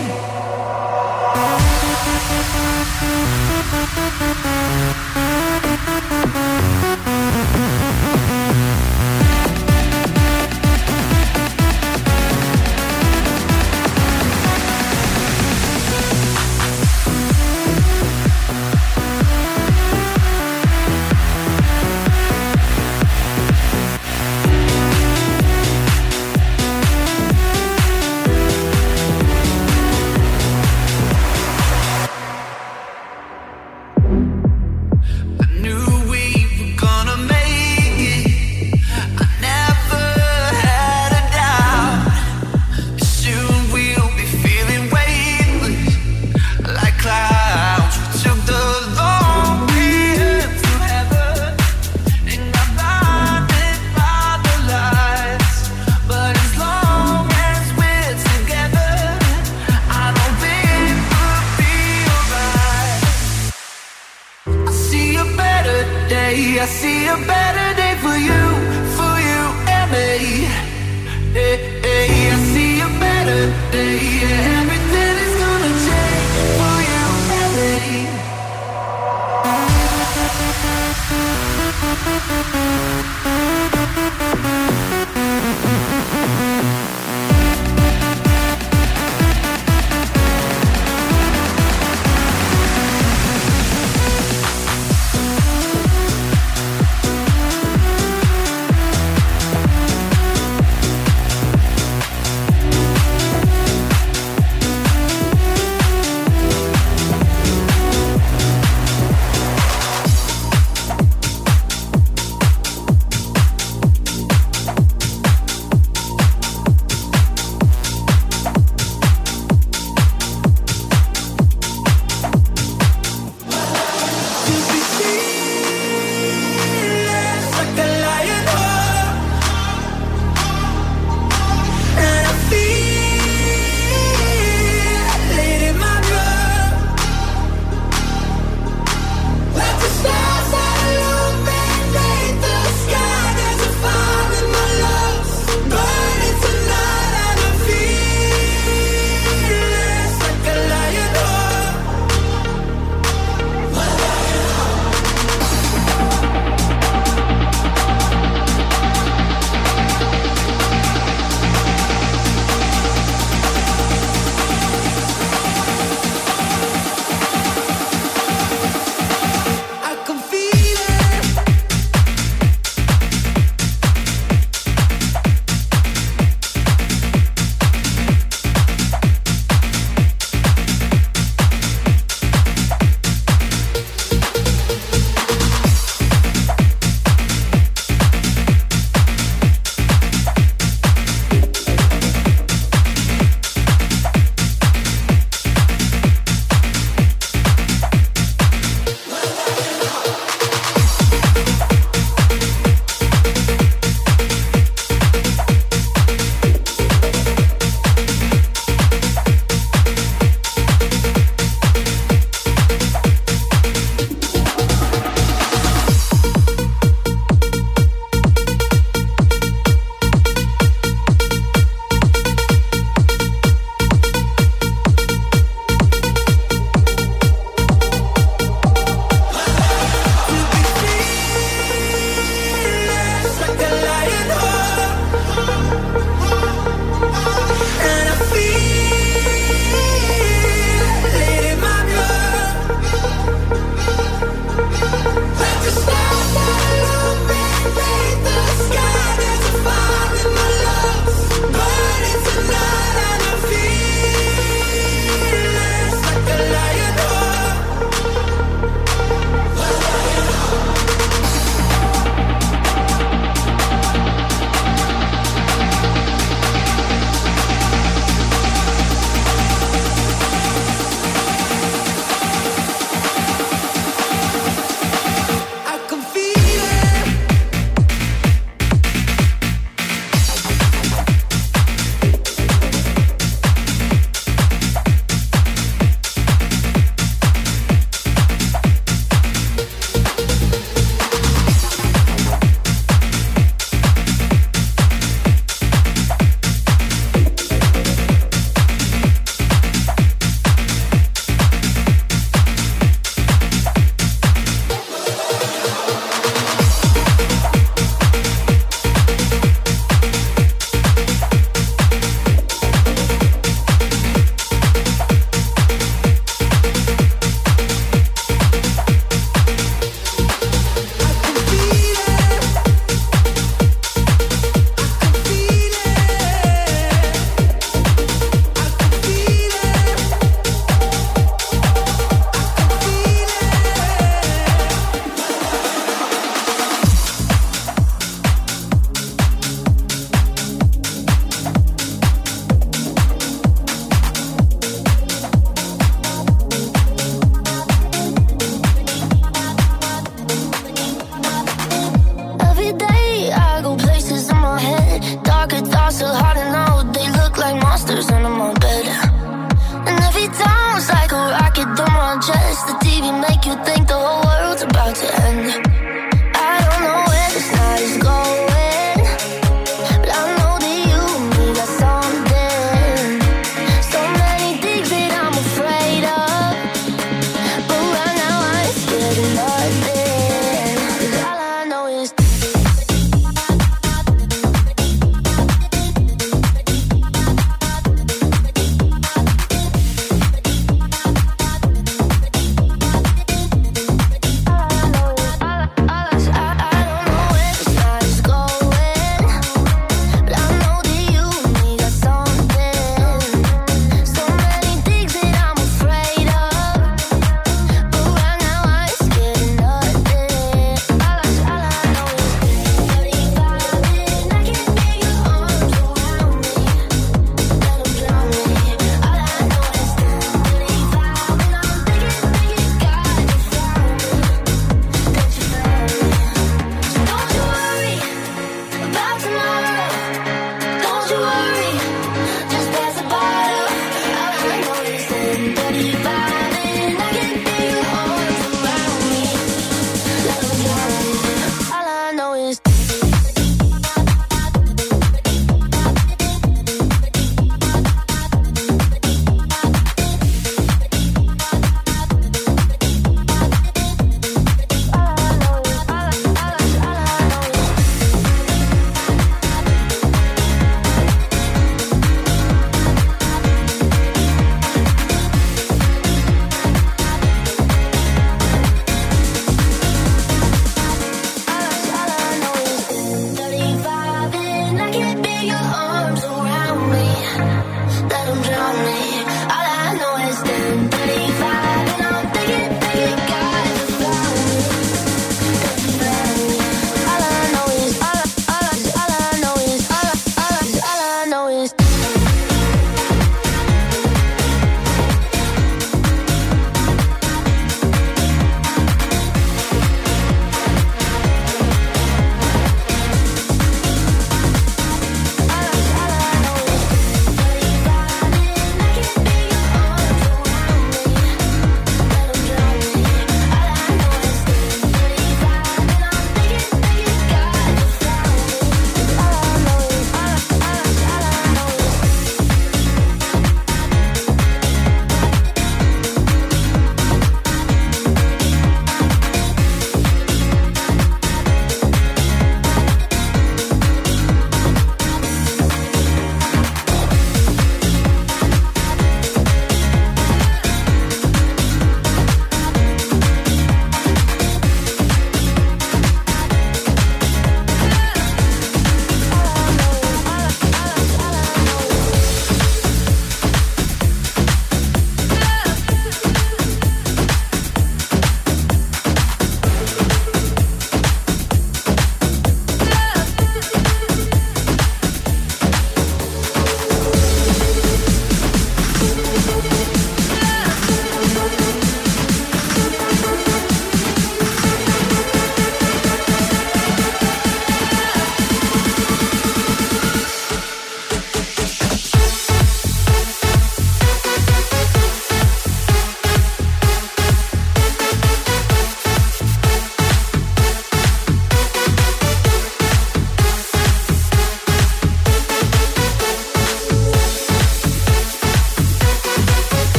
I see a better day for you, for you and me. Hey, hey, I see a better day. Yeah, everything is gonna change for you and me.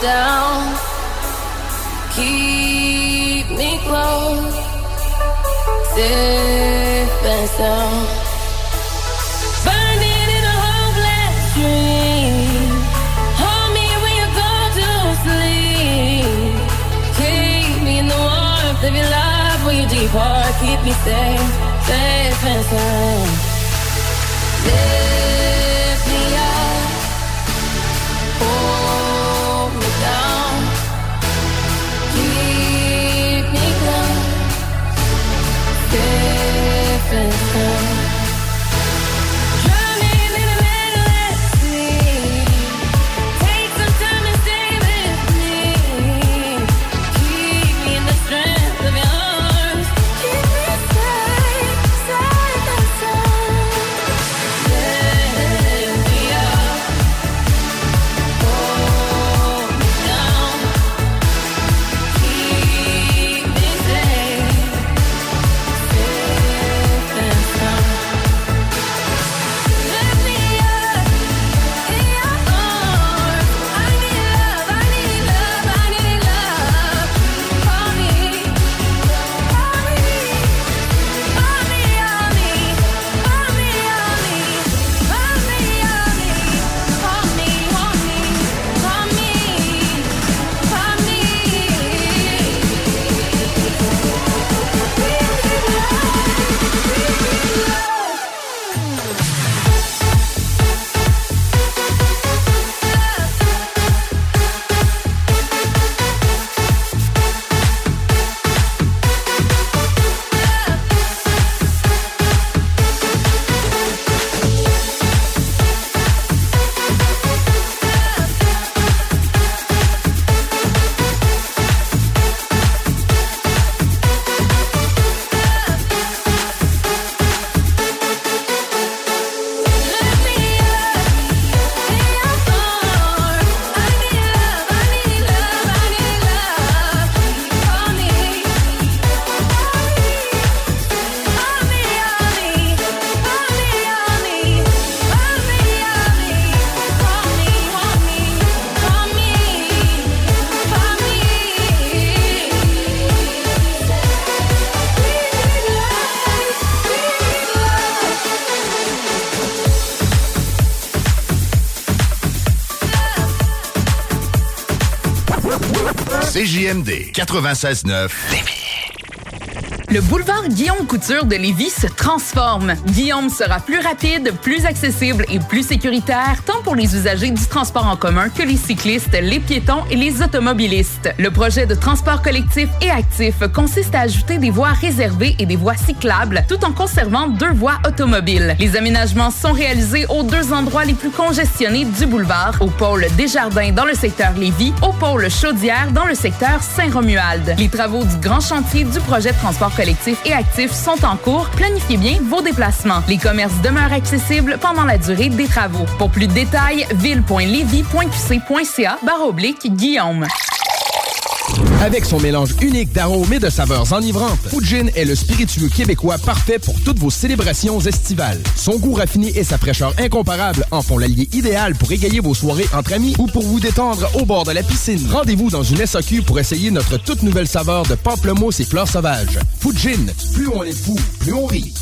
down. Keep me close, safe and sound. Burning in a hopeless dream. Hold me when you go to sleep. Keep me in the warmth of your love when you depart. Keep me safe, safe and sound. Lift me up, hold me down. Keep me close, safe and sound. Drowning in a endless sea. Take some time and stay with me. Keep me in the strength of your arms. Keep me safe, safe and sound. Lift me up, hold me down. Keep me safe, safe and sound. Lift me up in your arms. I need love, I need love, I need love. Call me, call me, call me, call me, call me, call me, call me, call me, call me, call me, C J M D quatre-vingt-seize neuf Lévis. Le boulevard Guillaume Couture de Lévis se transforme. Guillaume sera plus rapide, plus accessible et plus sécuritaire, tant pour les usagers du transport en commun que les cyclistes, les piétons et les automobilistes. Le projet de transport collectif et actif consiste à ajouter des voies réservées et des voies cyclables, tout en conservant deux voies automobiles. Les aménagements sont réalisés aux deux endroits les plus congestionnés du boulevard, au pôle Desjardins dans le secteur Lévis, au pôle Chaudière dans le secteur Saint-Romuald. Les travaux du grand chantier du projet de transport collectif et actifs sont en cours. Planifiez bien vos déplacements. Les commerces demeurent accessibles pendant la durée des travaux. Pour plus de détails, ville point lévis point q c point c a barre oblique Guillaume. Avec son mélange unique d'arômes et de saveurs enivrantes, Fujin est le spiritueux québécois parfait pour toutes vos célébrations estivales. Son goût raffiné et sa fraîcheur incomparable en font l'allié idéal pour égayer vos soirées entre amis ou pour vous détendre au bord de la piscine. Rendez-vous dans une S A Q pour essayer notre toute nouvelle saveur de pamplemousse et fleurs sauvages. Fujin, plus on est fou, plus on rit.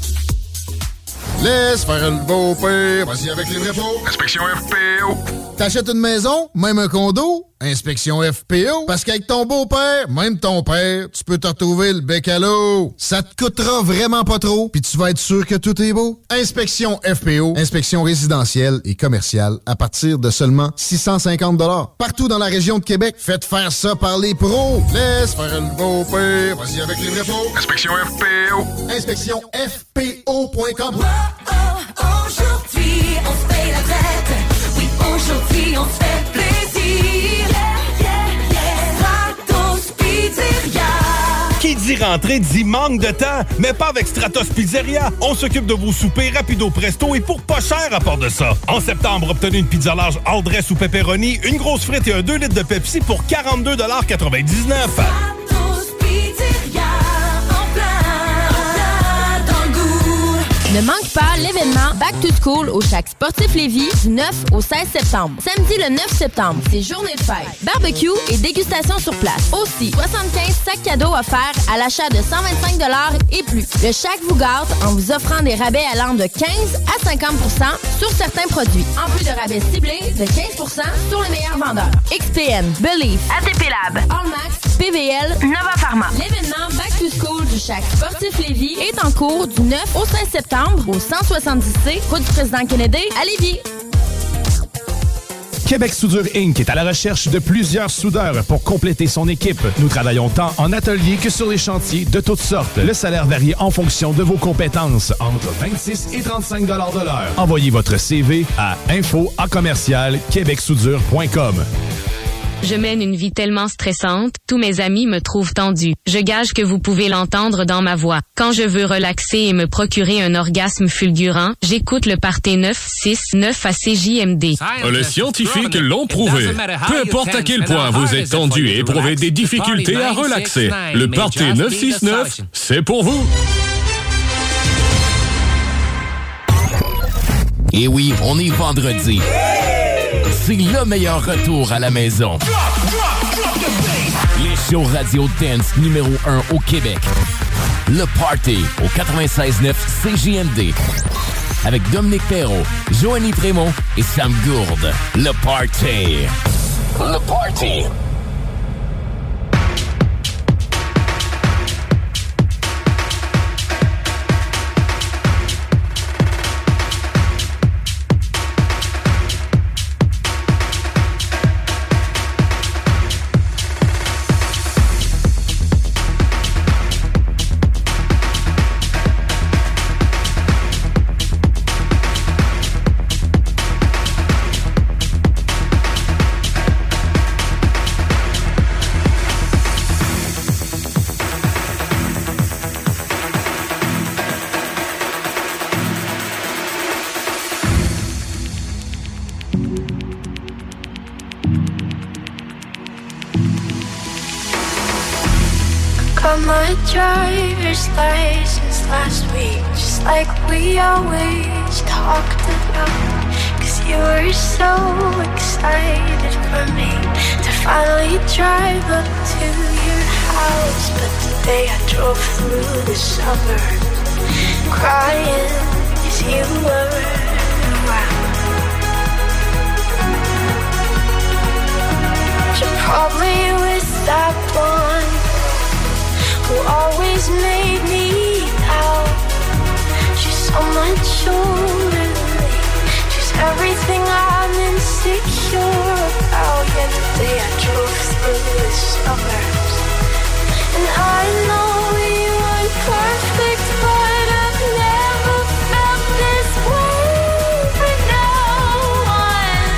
Laisse faire le beau-père, vas-y avec les vrais pots. Inspection F P O. T'achètes une maison, même un condo, inspection F P O. Parce qu'avec ton beau-père, même ton père, tu peux te retrouver le bec à l'eau. Ça te coûtera vraiment pas trop, puis tu vas être sûr que tout est beau. Inspection F P O, inspection résidentielle et commerciale à partir de seulement six cent cinquante dollars. Partout dans la région de Québec, faites faire ça par les pros. Laisse faire le beau-père, vas-y avec les vrais pots. Inspection F P O. Inspection F P O point com. Oh, aujourd'hui, on se paye la traite. Oui, aujourd'hui, on se fait plaisir. Yeah, yeah, yeah. Stratos Pizzeria. Qui dit rentrée dit manque de temps, mais pas avec Stratos Pizzeria. On s'occupe de vos soupers rapido presto et pour pas cher à part de ça. En septembre, obtenez une pizza large all dress ou pepperoni, une grosse frite et un deux litres de Pepsi pour quarante-deux quatre-vingt-dix-neuf. Stratos Pizzeria, en plein, en plein dans le goût. Ne manque pas l'événement Back to School au Shack Sportif Lévis du neuf au seize septembre. Samedi le neuf septembre, c'est journée de fête. Barbecue et dégustation sur place. Aussi, soixante-quinze sacs cadeaux offerts à l'achat de cent vingt-cinq dollars et plus. Le Shack vous gâte en vous offrant des rabais allant de quinze à cinquante pour cent sur certains produits. En plus de rabais ciblés de quinze pour cent sur les meilleurs vendeurs. X P N, Believe, A T P Lab, Allmax, P V L, Nova Pharma. L'événement Back to School du Shack Sportif Lévis est en cours du neuf au seize septembre au cent soixante-dix C, route du président Kennedy à Lévis. Québec Soudure Incorporée est à la recherche de plusieurs soudeurs pour compléter son équipe. Nous travaillons tant en atelier que sur les chantiers de toutes sortes. Le salaire varie en fonction de vos compétences, entre vingt-six et trente-cinq dollars de l'heure. Envoyez votre C V à info à commercial québec soudure point com. Je mène une vie tellement stressante, tous mes amis me trouvent tendue. Je gage que vous pouvez l'entendre dans ma voix. Quand je veux relaxer et me procurer un orgasme fulgurant, j'écoute le Party neuf six neuf à C J M D. Les scientifiques l'ont prouvé. Peu importe à quel point vous êtes tendu et éprouvez des difficultés à relaxer, le Party neuf six neuf, c'est pour vous. Et oui, on est vendredi. C'est le meilleur retour à la maison. Les shows radio dance numéro un au Québec. Le Party au quatre-vingt-seize neuf C J M D. Avec Dominique Perrault, Joanie Prémont et Sam Gourde. Le Party. Le Party. my driver's license last week, just like we always talked about. Cause you were so excited for me to finally drive up to your house. But today I drove through the suburbs crying as you were around. You probably was that one who always made me out. She's so much older than me. She's everything I'm insecure about. Yet today I drove through the suburbs, and I know we weren't perfect, but I've never felt this way for no one.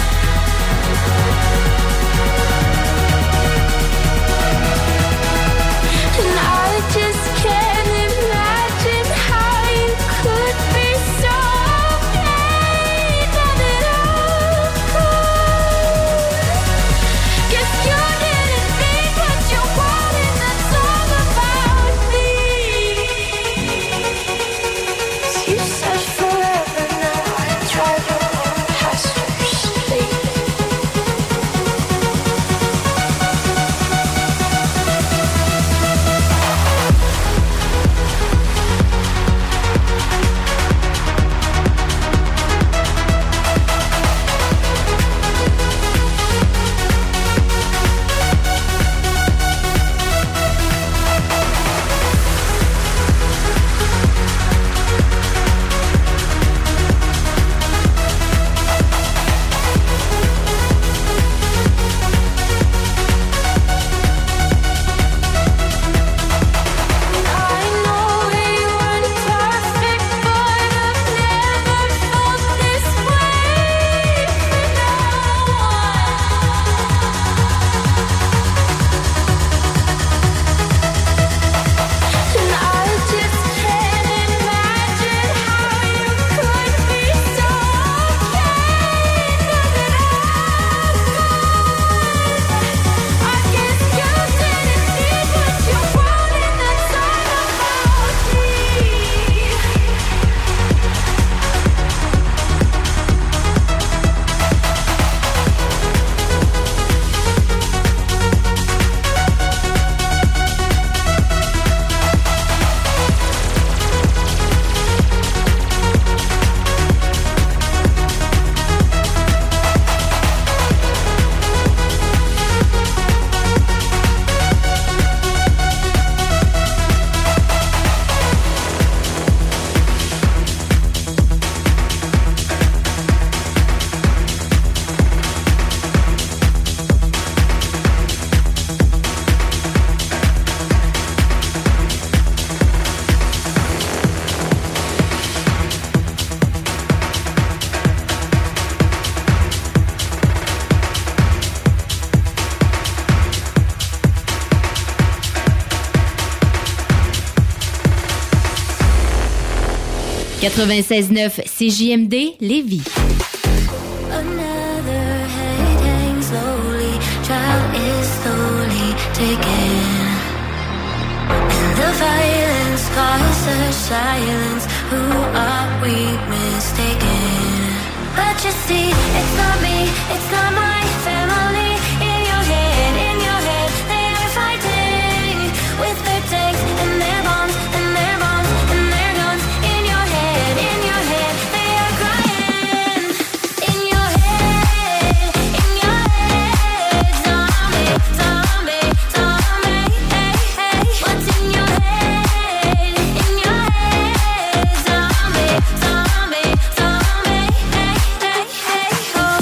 And I just can't imagine how you could be so quatre-vingt-seize neuf C J M D Lévis. Another head hangs slowly, child is slowly taken. And the violence causes silence. Who are we mistaken? But you see, it's not me, it's not my family. In your head, in your head, they are fighting with their tanks and their bombs and their bombs and their guns. In your head, in your head, they are crying. In your head, in your head, zombie, zombie, zombie, hey, hey. What's in your head, in your head, zombie, zombie, zombie, hey, hey, hey, oh.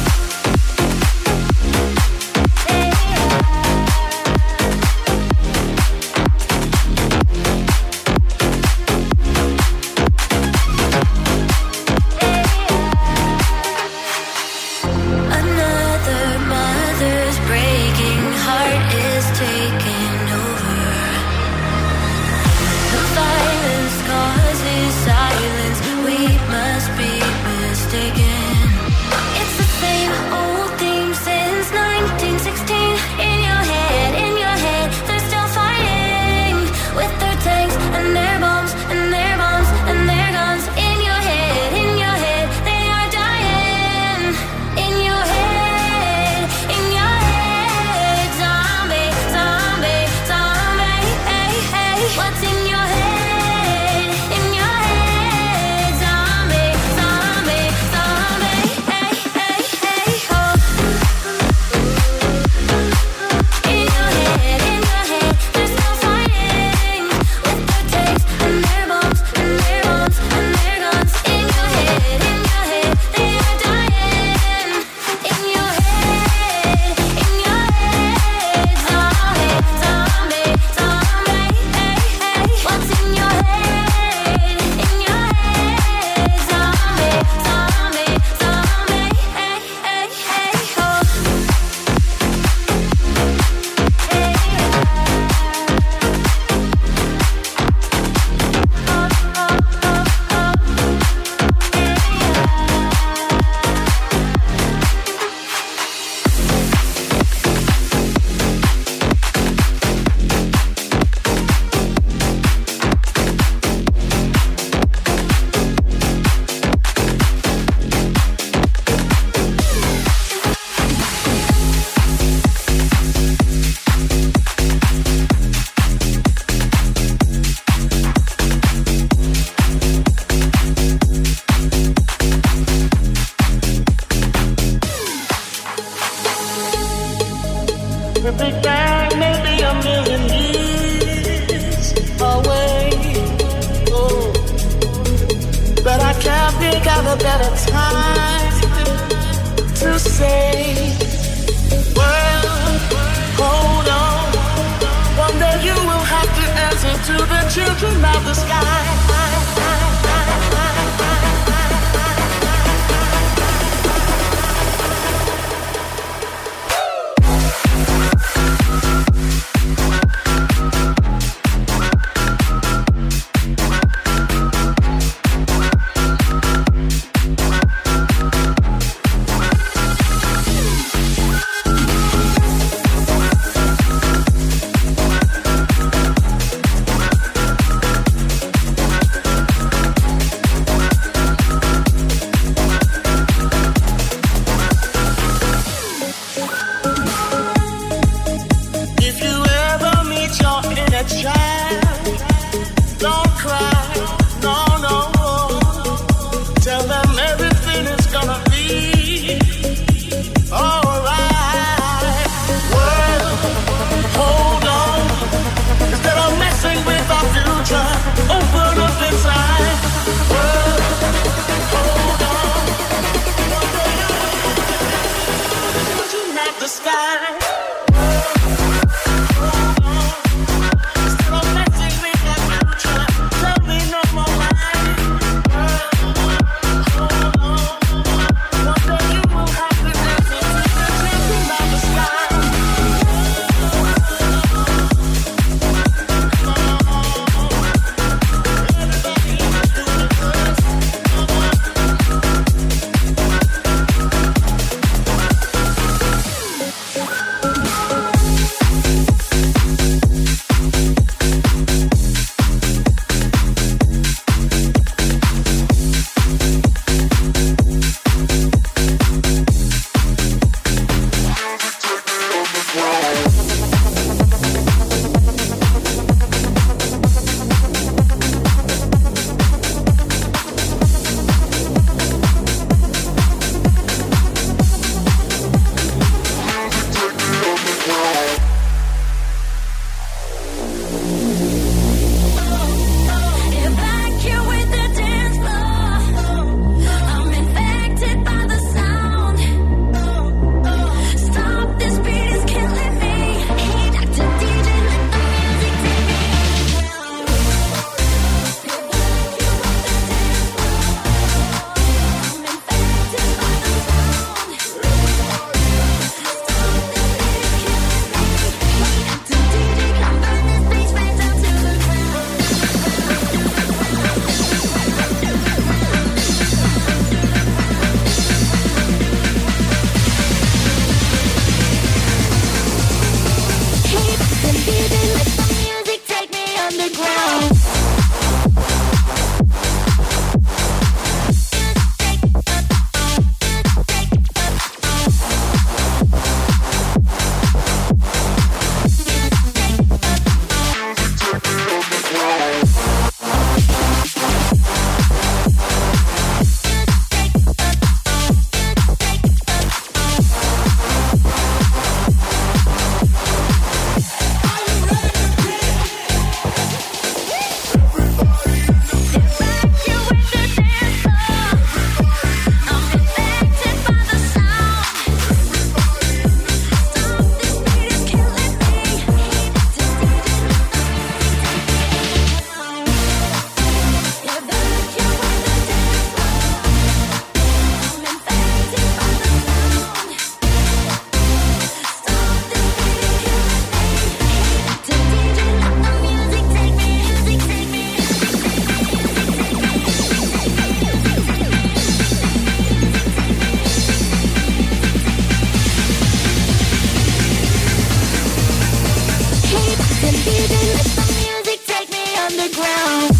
Another mother's breaking heart is taking over. The violence causes silence. We must be mistaken. It's the same old theme since nineteen sixteen. In your head, in your head, they're still fighting with their tanks and their bombs and their bombs and their guns. In your head, in your head, they are dying. In your head, in your head, zombie, zombie, zombie, hey, hey. What's in your head, in your head, zombie, zombie, zombie, hey, hey, hey, oh. In your head, in your head, they're still fighting with their tanks and their bombs and their bombs and their guns. In your head, in your head, they are dying. In your head, in your head, zombie, zombie, zombie, hey, hey. What's in your head, in your head, zombie, zombie, zombie, hey, hey, hey, oh. The Big Bang may be a million years away. Oh, but I can't think of a better time to say, well, hold on. One day you will have to answer to the children of the sky. ground.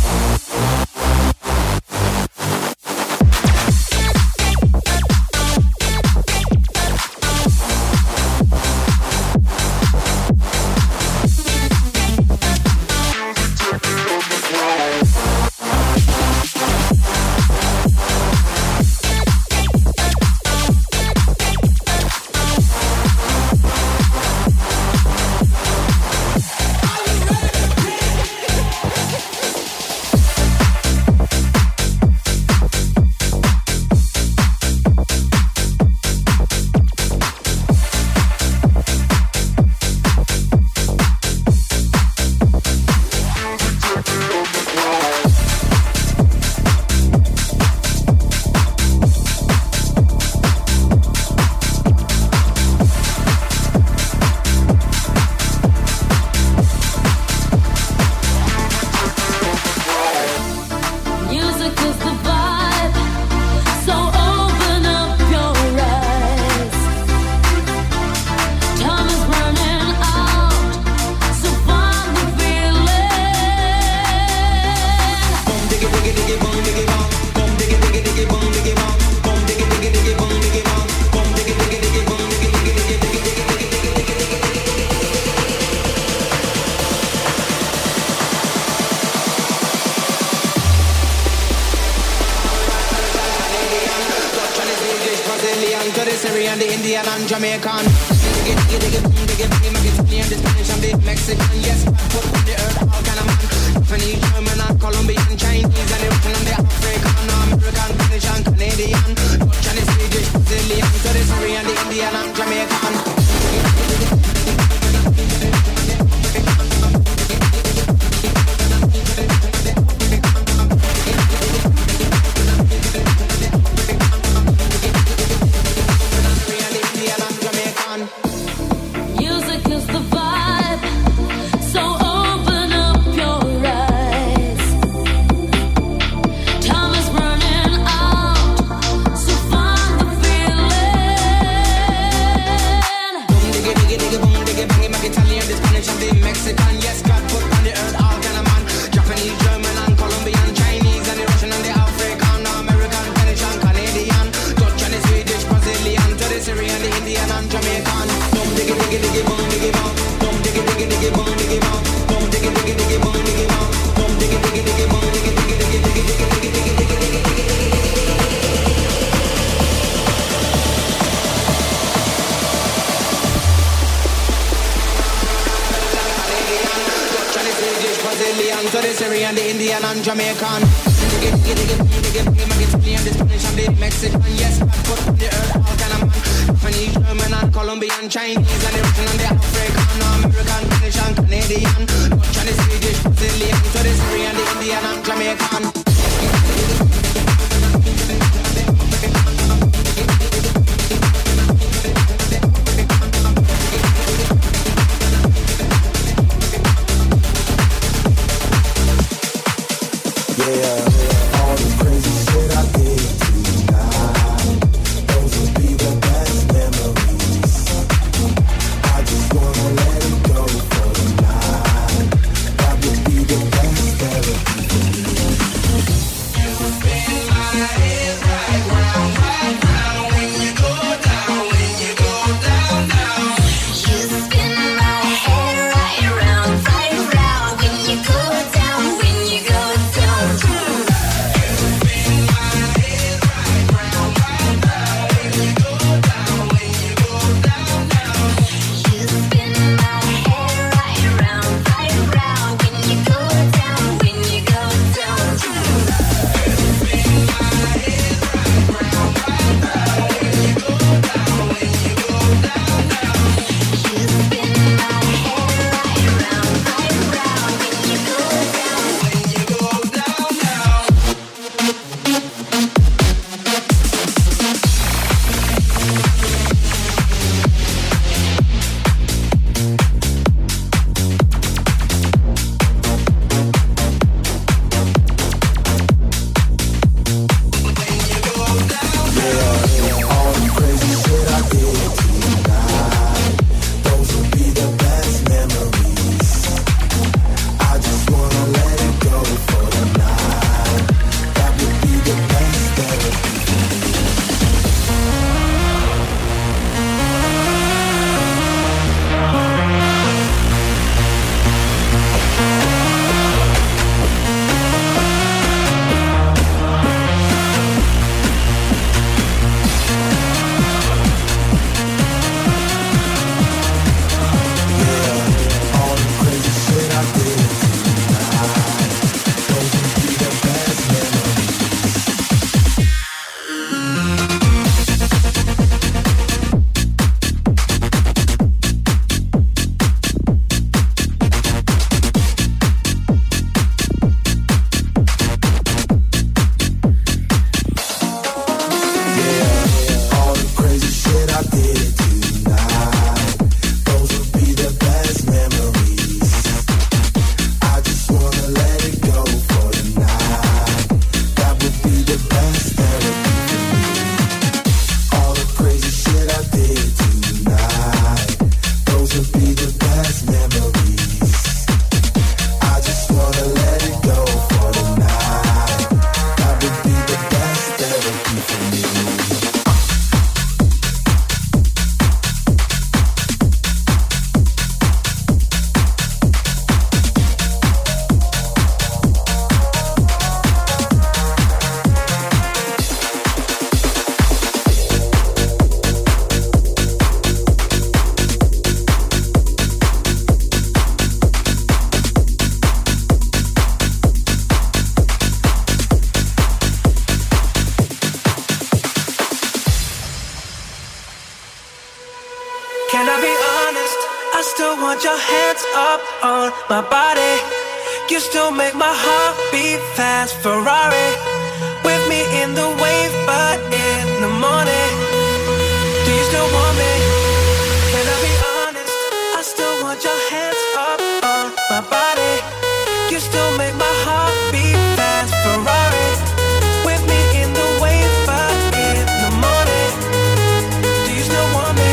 still want your hands up on my body. You still make my heart beat fast. Ferrari with me in the wave, but in the morning. Do you still want me? Can I be honest? I still want your hands up on my body. You still make my heart beat fast. Ferrari with me in the wave, but in the morning. Do you still want me?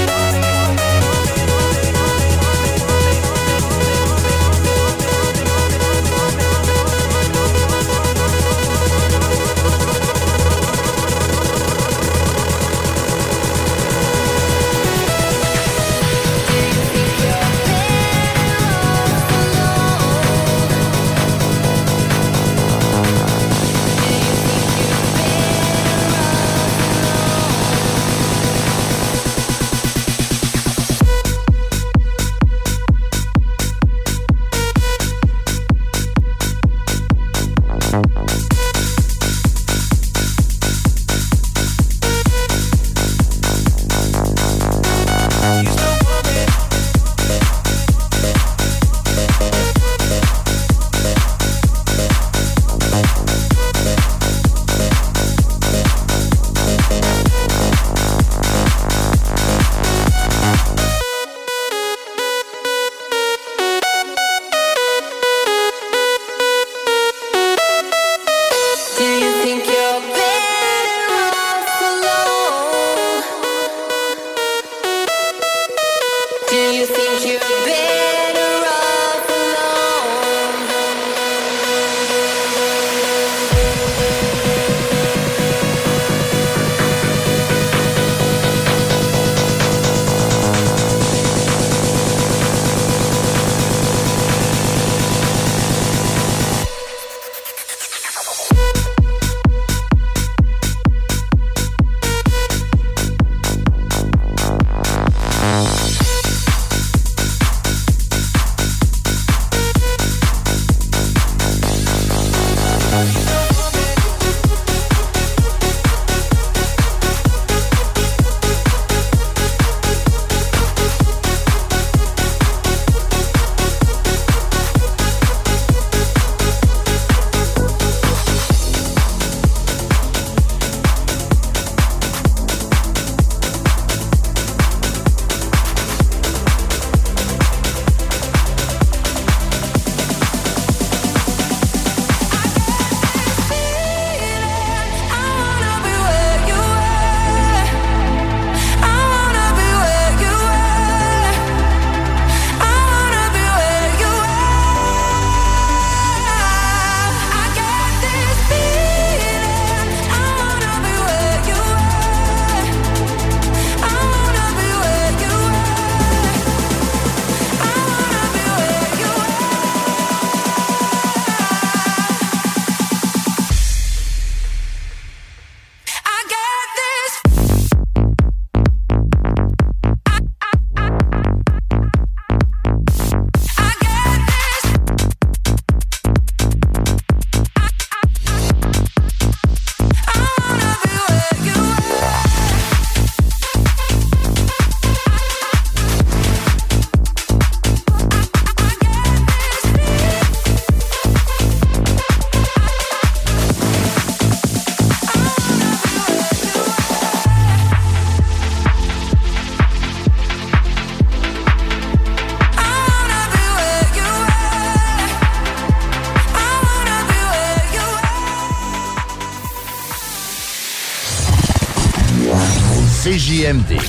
C J M D.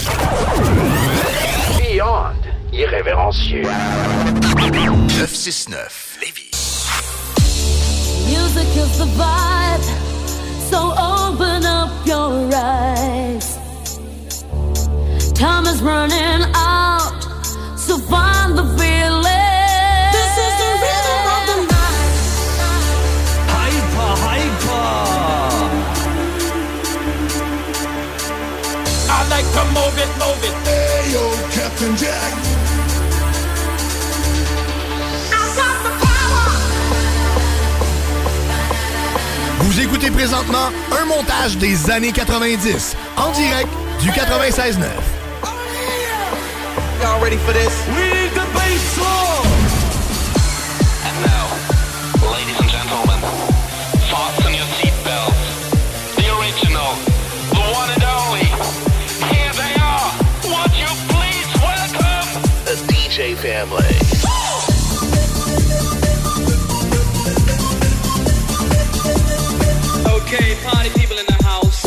Beyond irrévérencieux. neuf cent soixante-neuf Lévis. Music is the vibe, so open up your eyes. Time is running out, so find the feeling. This is the rhythm of the night. Hyper, hyper. I like to move it, move it. Hey yo, Captain Jack. Vous écoutez présentement un montage des années quatre-vingt-dix, en direct du quatre-vingt-seize neuf. Y'all ready for this? We need the bass drum. And now, ladies and gentlemen, fasten your seatbelts. The original, the one and only. Here they are. Would you please welcome the D J family. Okay, party people in the house.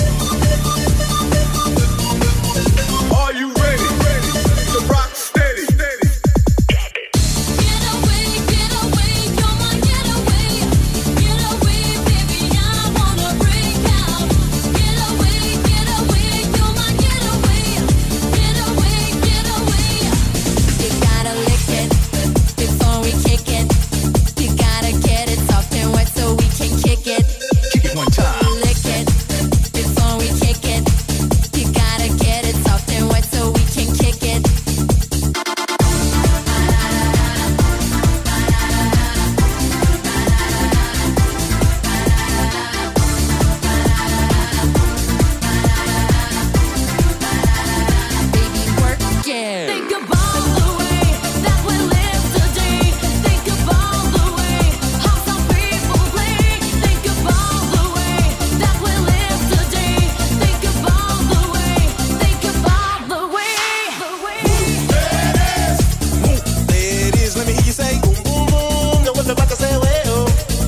Are you ready? Ready to rock steady? Steady. Get away, get away, come on, get away. Get away, baby, I wanna break out. Get away, get away, come on, get away. Get away, get away. You gotta lick it before we kick it. You gotta get it soft and wet so we can kick it. Kick it one time. Lick it before we kick it. You gotta get it soft and wet so we can kick it. Baby, work it. Think about the way that we live today. Think about the way how some people play. Think about the way that we live today. Think about the way. Think about the way. The way. There it is. Let me hear you say boom, boom, boom. Know what I'm about to say, well.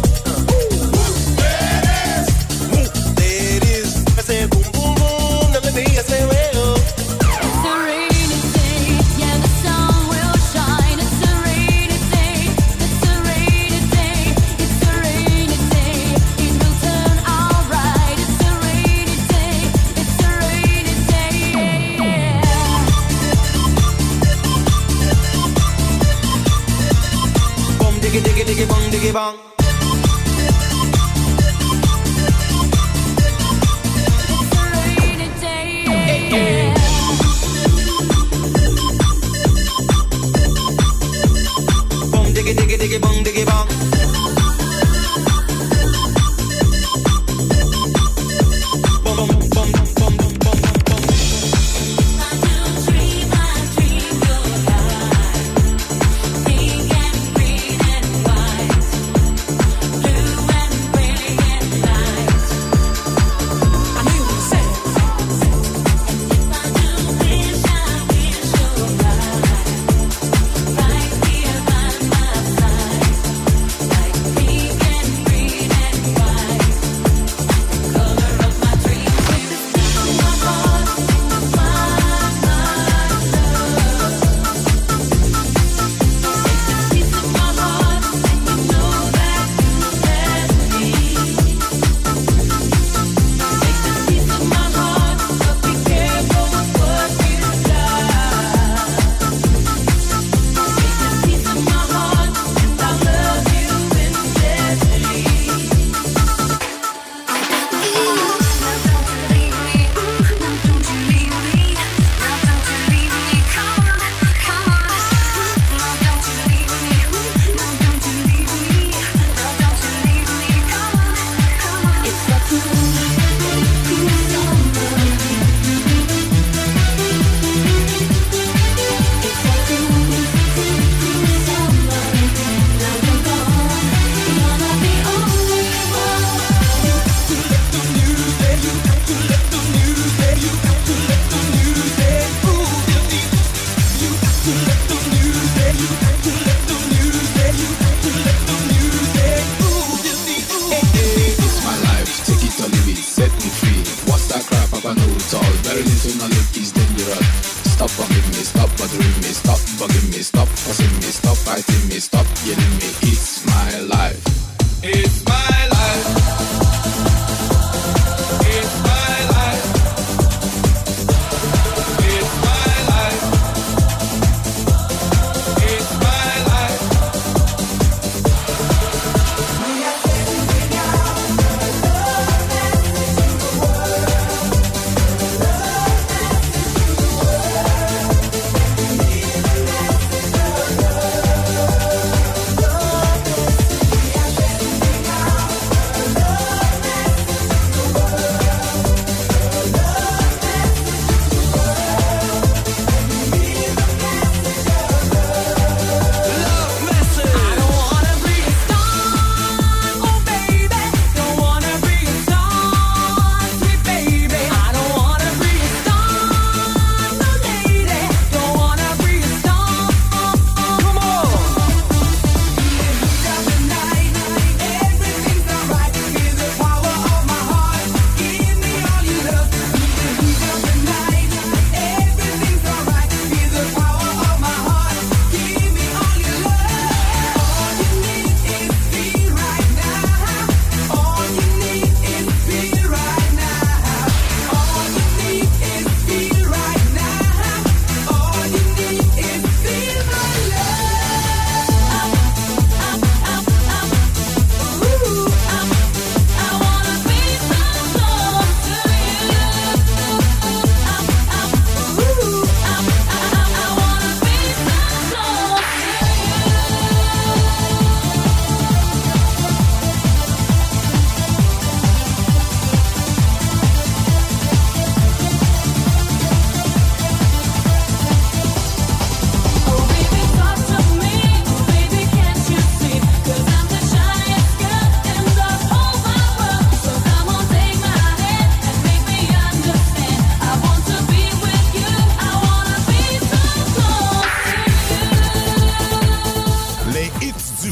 There it is. I say boom, boom, boom. Now let me hear you say, well. It's a rainy day, yeah, the sun will shine. It's a rainy day, it's a rainy day, it's a rainy day. It will turn alright. It's a rainy day, it's a rainy day. Boom, diggy, diggy, diggy, bong, diggy, bong. It's a rainy day. Boom, diggy, diggy, diggy, bong, diggy, bong. Boom, boom, boom, boom, boom, boom, boom. Dream, I dream your life. Pink and green and white.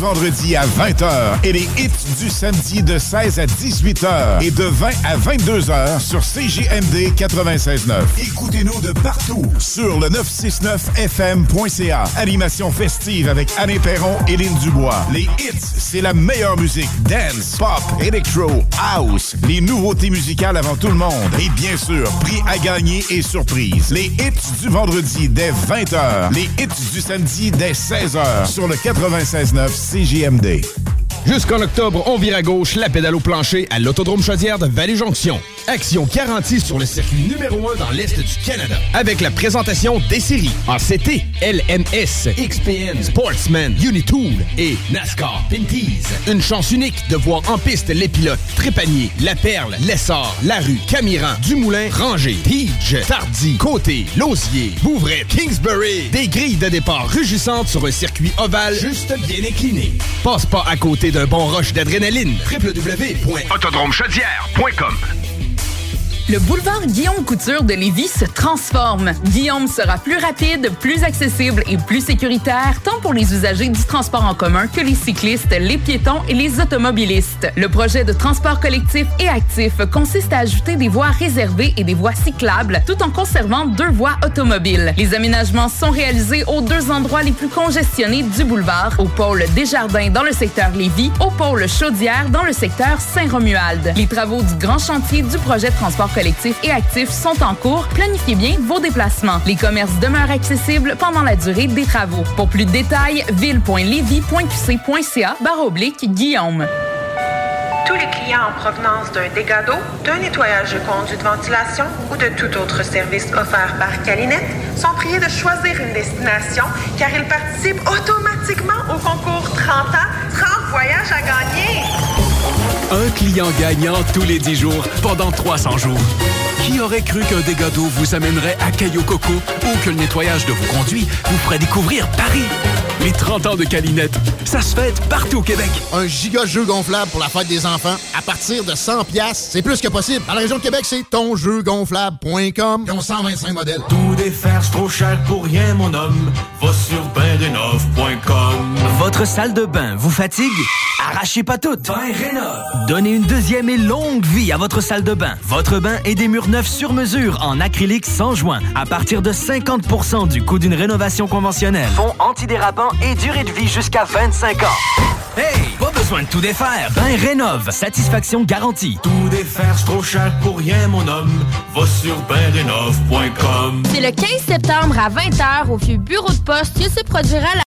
vendredi à vingt heures et les hits du samedi de seize à dix-huit heures et de vingt à vingt-deux heures sur C J M D quatre-vingt-seize neuf. Écoutez-nous de partout sur le neuf cent soixante-neuf F M point C A. Animation festive avec Anne Perron et Lynn Dubois. Les hits, c'est la meilleure musique. Dance, pop, electro, house. Les nouveautés musicales avant tout le monde. Et bien sûr, prix à gagner et surprise. Les hits du vendredi dès vingt heures. Les hits du samedi dès seize heures sur le quatre-vingt-seize neuf C J M D. Jusqu'en octobre, on vire à gauche la pédale au plancher à l'Autodrome Chaudière de Vallée-Jonction. Action garantie sur le circuit numéro un dans l'Est du Canada. Avec la présentation des séries A C T, L M S, X P N, Sportsman, Unitool et NASCAR Pinties. Une chance unique de voir en piste les pilotes Trépanier, La Perle, Lessard, Larue, Camiran, Dumoulin, Ranger, Tige, Tardy, Côté, Lausier, Bouvray, Kingsbury. Des grilles de départ rugissantes sur un circuit ovale juste bien incliné. Passe pas à côté d'un bon rush d'adrénaline. w w w point autodrome chaudière point com. Le boulevard Guillaume Couture de Lévis se transforme. Guillaume sera plus rapide, plus accessible et plus sécuritaire, tant pour les usagers du transport en commun que les cyclistes, les piétons et les automobilistes. Le projet de transport collectif et actif consiste à ajouter des voies réservées et des voies cyclables, tout en conservant deux voies automobiles. Les aménagements sont réalisés aux deux endroits les plus congestionnés du boulevard, au pôle Desjardins dans le secteur Lévis, au pôle Chaudière dans le secteur Saint-Romuald. Les travaux du grand chantier du projet de transport collectifs et actifs sont en cours. Planifiez bien vos déplacements. Les commerces demeurent accessibles pendant la durée des travaux. Pour plus de détails, ville point lévis point q c point c a barre oblique Guillaume. Tous les clients en provenance d'un dégât d'eau, d'un nettoyage de conduits de ventilation ou de tout autre service offert par Calinette sont priés de choisir une destination car ils participent automatiquement au concours trente ans, trente voyages à gagner. Un client gagnant tous les dix jours pendant trois cents jours. Qui aurait cru qu'un dégât d'eau vous amènerait à Cayo Coco ou que le nettoyage de vos conduits vous ferait découvrir Paris? Les trente ans de Calinette, ça se fête partout au Québec. Un giga jeu gonflable pour la fête des enfants à partir de cent piastres, c'est plus que possible. Dans la région de Québec, c'est ton jeu gonflable point com. Ils ont cent vingt-cinq modèles. Tout défaire, c'est trop cher pour rien, mon homme. Va sur bain rénov point com. Votre salle de bain vous fatigue? Arrachez pas tout. Bain Rénov. Donnez une deuxième et longue vie à votre salle de bain. Votre bain et des murs neufs sur mesure en acrylique sans joint à partir de cinquante pour cent du coût d'une rénovation conventionnelle. Fond antidérapant et durée de vie jusqu'à vingt-cinq ans. Hey, pas besoin de tout défaire. Bain Rénov. Satisfaction garantie. Tout défaire, c'est trop cher pour rien, mon homme. Va sur bain rénov point com. C'est le quinze septembre à vingt heures au vieux bureau de poste que se produira